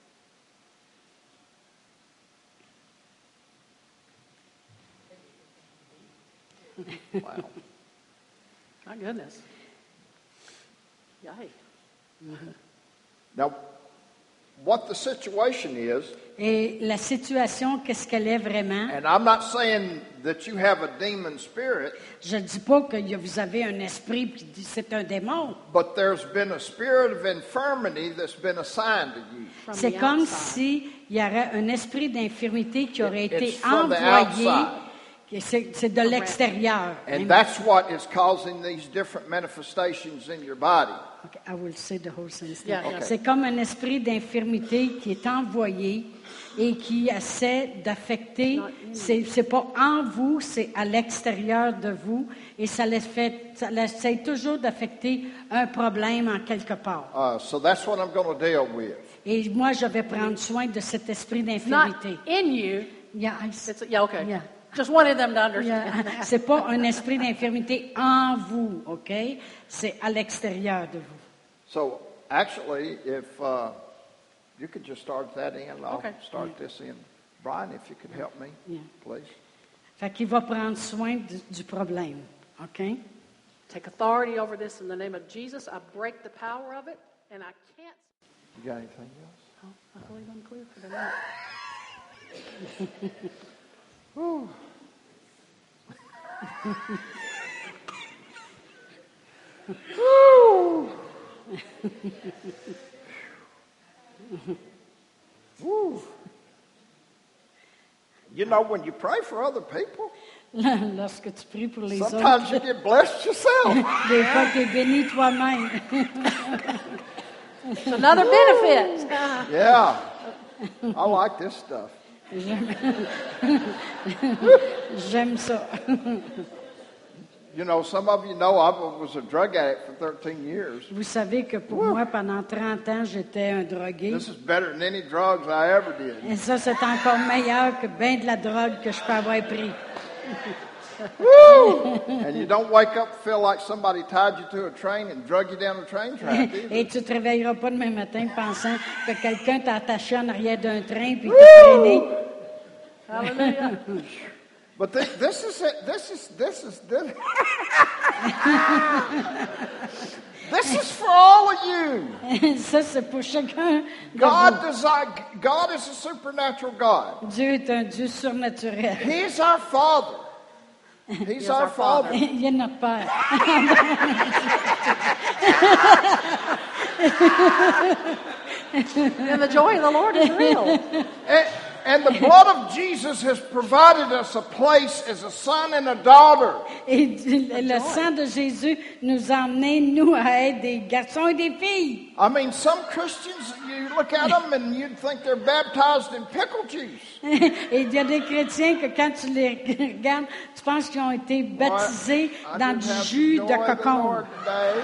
Wow. My goodness. Yikes. Now, what the situation is, Et la situation, qu'est-ce qu'elle est vraiment? and I'm not saying that you have a demon spirit, Je ne dis pas que y a- vous avez un esprit qui dit c'est un démon. but there's been a spirit of infirmity that's been assigned to you. From C'est the comme outside. s'il y aurait un esprit d'infirmité qui aurait It- été it's from the envoyé. outside. Et C'est c'est de l'extérieur. And that's what is causing these different manifestations in your body. Okay, I will say the whole sentence. Yeah, yeah. C'est comme un esprit d'infirmité qui est envoyé et qui essaie d'affecter. C'est c'est pas en vous, c'est à l'extérieur de vous, et ça les fait, ça essaie toujours d'affecter un problème en quelque part. Uh, so that's what I'm going to deal with. Et moi, je vais prendre soin de cet esprit Not d'infirmité. in you. Yeah, I- It's, yeah, okay. Yeah. Just wanted them to understand Yeah. that. C'est pas un esprit d'infirmité en vous, OK? C'est à l'extérieur de vous. So actually, if uh, you could just start that in, I'll Okay. start this in. Brian, if you could help me, Yeah. please. Fait qu'il va prendre soin du, du problème, OK? Take authority over this in the name of Jesus. I break the power of it, and I can't. You got anything else? Oh, I believe I'm clear for the night. Woo. You know, when you pray for other people, Lorsque tu pries pour les sometimes you autres, get blessed yourself. des fois, tu es béni toi-même. It's another benefit. Yeah. I like this stuff. J'aime ça. You know, some of you know I was a drug addict for thirteen years. Vous savez que pour moi, pendant trente ans, j'étais un drogué. This is better than any drugs I ever did. Et ça, c'est encore meilleur que bien de la drogue que je peux avoir pris. Woo! And you don't wake up and feel like somebody tied you to a train and drug you down a train track either. Et tu ne te réveilleras pas demain matin pensant que quelqu'un t'a attaché en arrière d'un train puis t'a traîné. Hallelujah. But thi- this is it. This is this is this. This is for all of you. Ça, c'est pour chacun de God vous. desire, God is a supernatural God. Dieu est un Dieu surnaturel. He's our Father. He's is our, our Father. Father. Il est notre Père. And the joy of the Lord is real. And, and the blood of Jesus has provided us a place as a son and a daughter. Et le sang de Jésus nous a emmenés, nous, à être des garçons et des filles. I mean, some Christians, you look at them and you'd think they're baptized in pickle juice. Et il y a des chrétiens que quand tu les regardes, tu penses qu'ils ont été baptisés I dans didn't du have jus the de joy of the cocon. Lord today.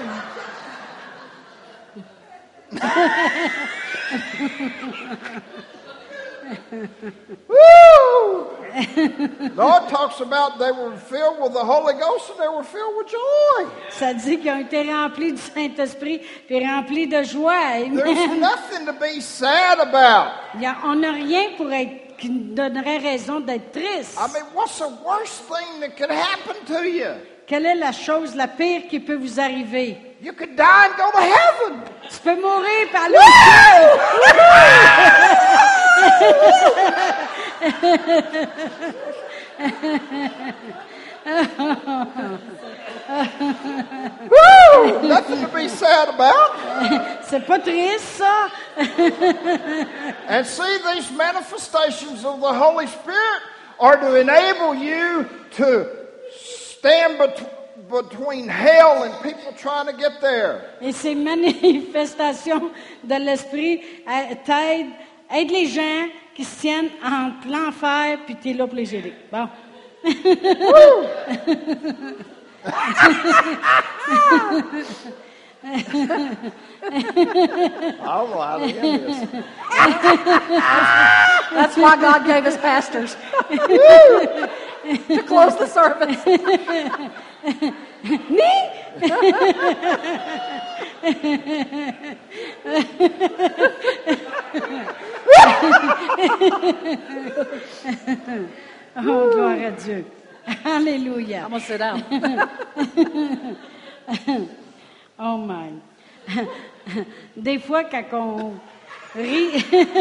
Woo! Lord talks about they were filled with the Holy Ghost and they were filled with joy. Ça dit qu'ils ont été remplis du Saint-Esprit puis remplis de joie. There's Amen. nothing to be sad about. Il y a- on n'a rien pour être qui nous donnerait raison d'être tristes. I mean, what's the worst thing that could happen to you? Quelle est la chose la pire qui peut vous arriver? You could die and go to heaven. Tu peux mourir par aller au Woo! Nothing to be sad about. C'est pas triste, ça? And see, these manifestations of the Holy Spirit are to enable you to stand bet- between hell and people trying to get there. Et ces manifestations de l'Esprit euh, t'aident, aident les gens qui se tiennent entre l'enfer puis t'es là pour les aider. Bon. All right, I hear this. That's why God gave us pastors to close the service. Oh, gloire à Dieu. Alléluia. I'm gonna sit down. Oh my. Des fois, quand on rit,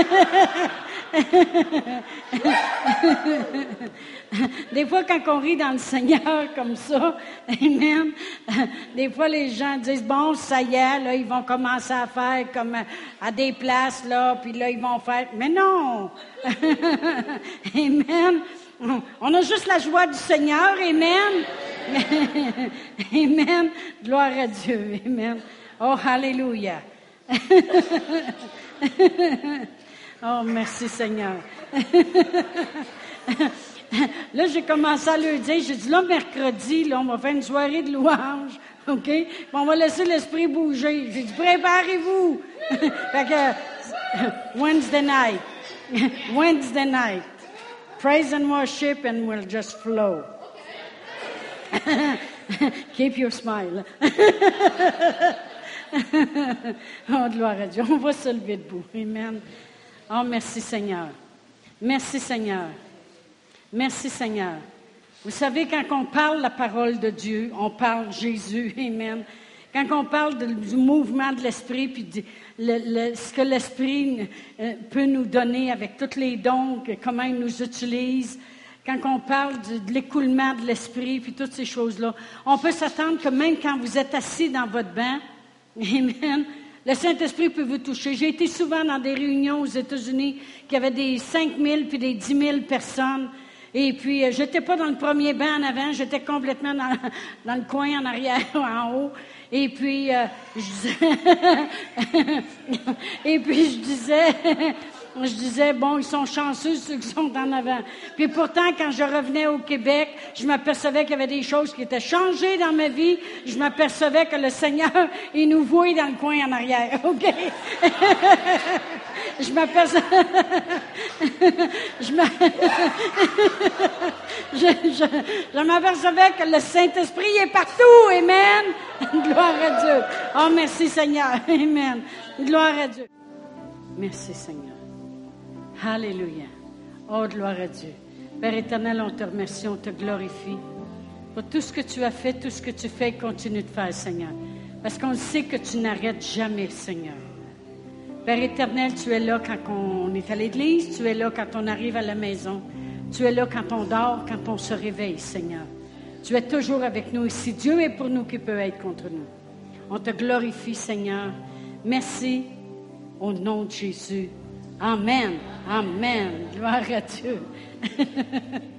des fois, quand on rit dans le Seigneur comme ça, amen, des fois, les gens disent, bon, ça y est, là, ils vont commencer à faire comme à des places, là, puis là, ils vont faire, mais non! Amen! On a juste la joie du Seigneur, amen! Amen! Gloire à Dieu, amen! Oh, alléluia! Oh, merci Seigneur! Là, j'ai commencé à leur dire, j'ai dit, là, mercredi, là, on va faire une soirée de louange, OK? Puis on va laisser l'esprit bouger. J'ai dit, préparez-vous! Fait que, Wednesday night. Wednesday night. Praise and worship and we'll just flow. Keep your smile. Oh, gloire à Dieu. On va se lever debout. Amen. Oh, merci Seigneur. Merci Seigneur. Merci Seigneur. Vous savez, quand on parle la parole de Dieu, on parle Jésus. Amen. Quand on parle de, du mouvement de l'Esprit, puis du, le, le, ce que l'Esprit euh, peut nous donner avec tous les dons, que, comment il nous utilise, quand on parle de, de l'écoulement de l'Esprit, puis toutes ces choses-là, on peut s'attendre que même quand vous êtes assis dans votre banc, amen, le Saint-Esprit peut vous toucher. J'ai été souvent dans des réunions aux États-Unis qui avaient des cinq mille puis des dix mille personnes. Et puis, euh, j'étais pas dans le premier banc en avant, j'étais complètement dans, dans le coin en arrière ou en haut. Et puis, euh, je disais, et puis je disais, je disais, bon, ils sont chanceux ceux qui sont en avant. Puis pourtant, quand je revenais au Québec, je m'apercevais qu'il y avait des choses qui étaient changées dans ma vie. Je m'apercevais que le Seigneur, il nous voyait dans le coin en arrière, OK? Je m'apercevais, je, je, je, je m'apercevais que le Saint-Esprit est partout, amen. Gloire à Dieu. Oh, merci Seigneur, amen. Gloire à Dieu. Merci Seigneur. Alléluia. Oh, gloire à Dieu. Père éternel, on te remercie, on te glorifie pour tout ce que tu as fait, tout ce que tu fais et continue de faire, Seigneur. Parce qu'on sait que tu n'arrêtes jamais, Seigneur. Père éternel, tu es là quand on est à l'église, tu es là quand on arrive à la maison, tu es là quand on dort, quand on se réveille, Seigneur. Tu es toujours avec nous. Et si Dieu est pour nous, qui peut être contre nous? On te glorifie, Seigneur. Merci au nom de Jésus. Amen. Amen. Gloire à Dieu.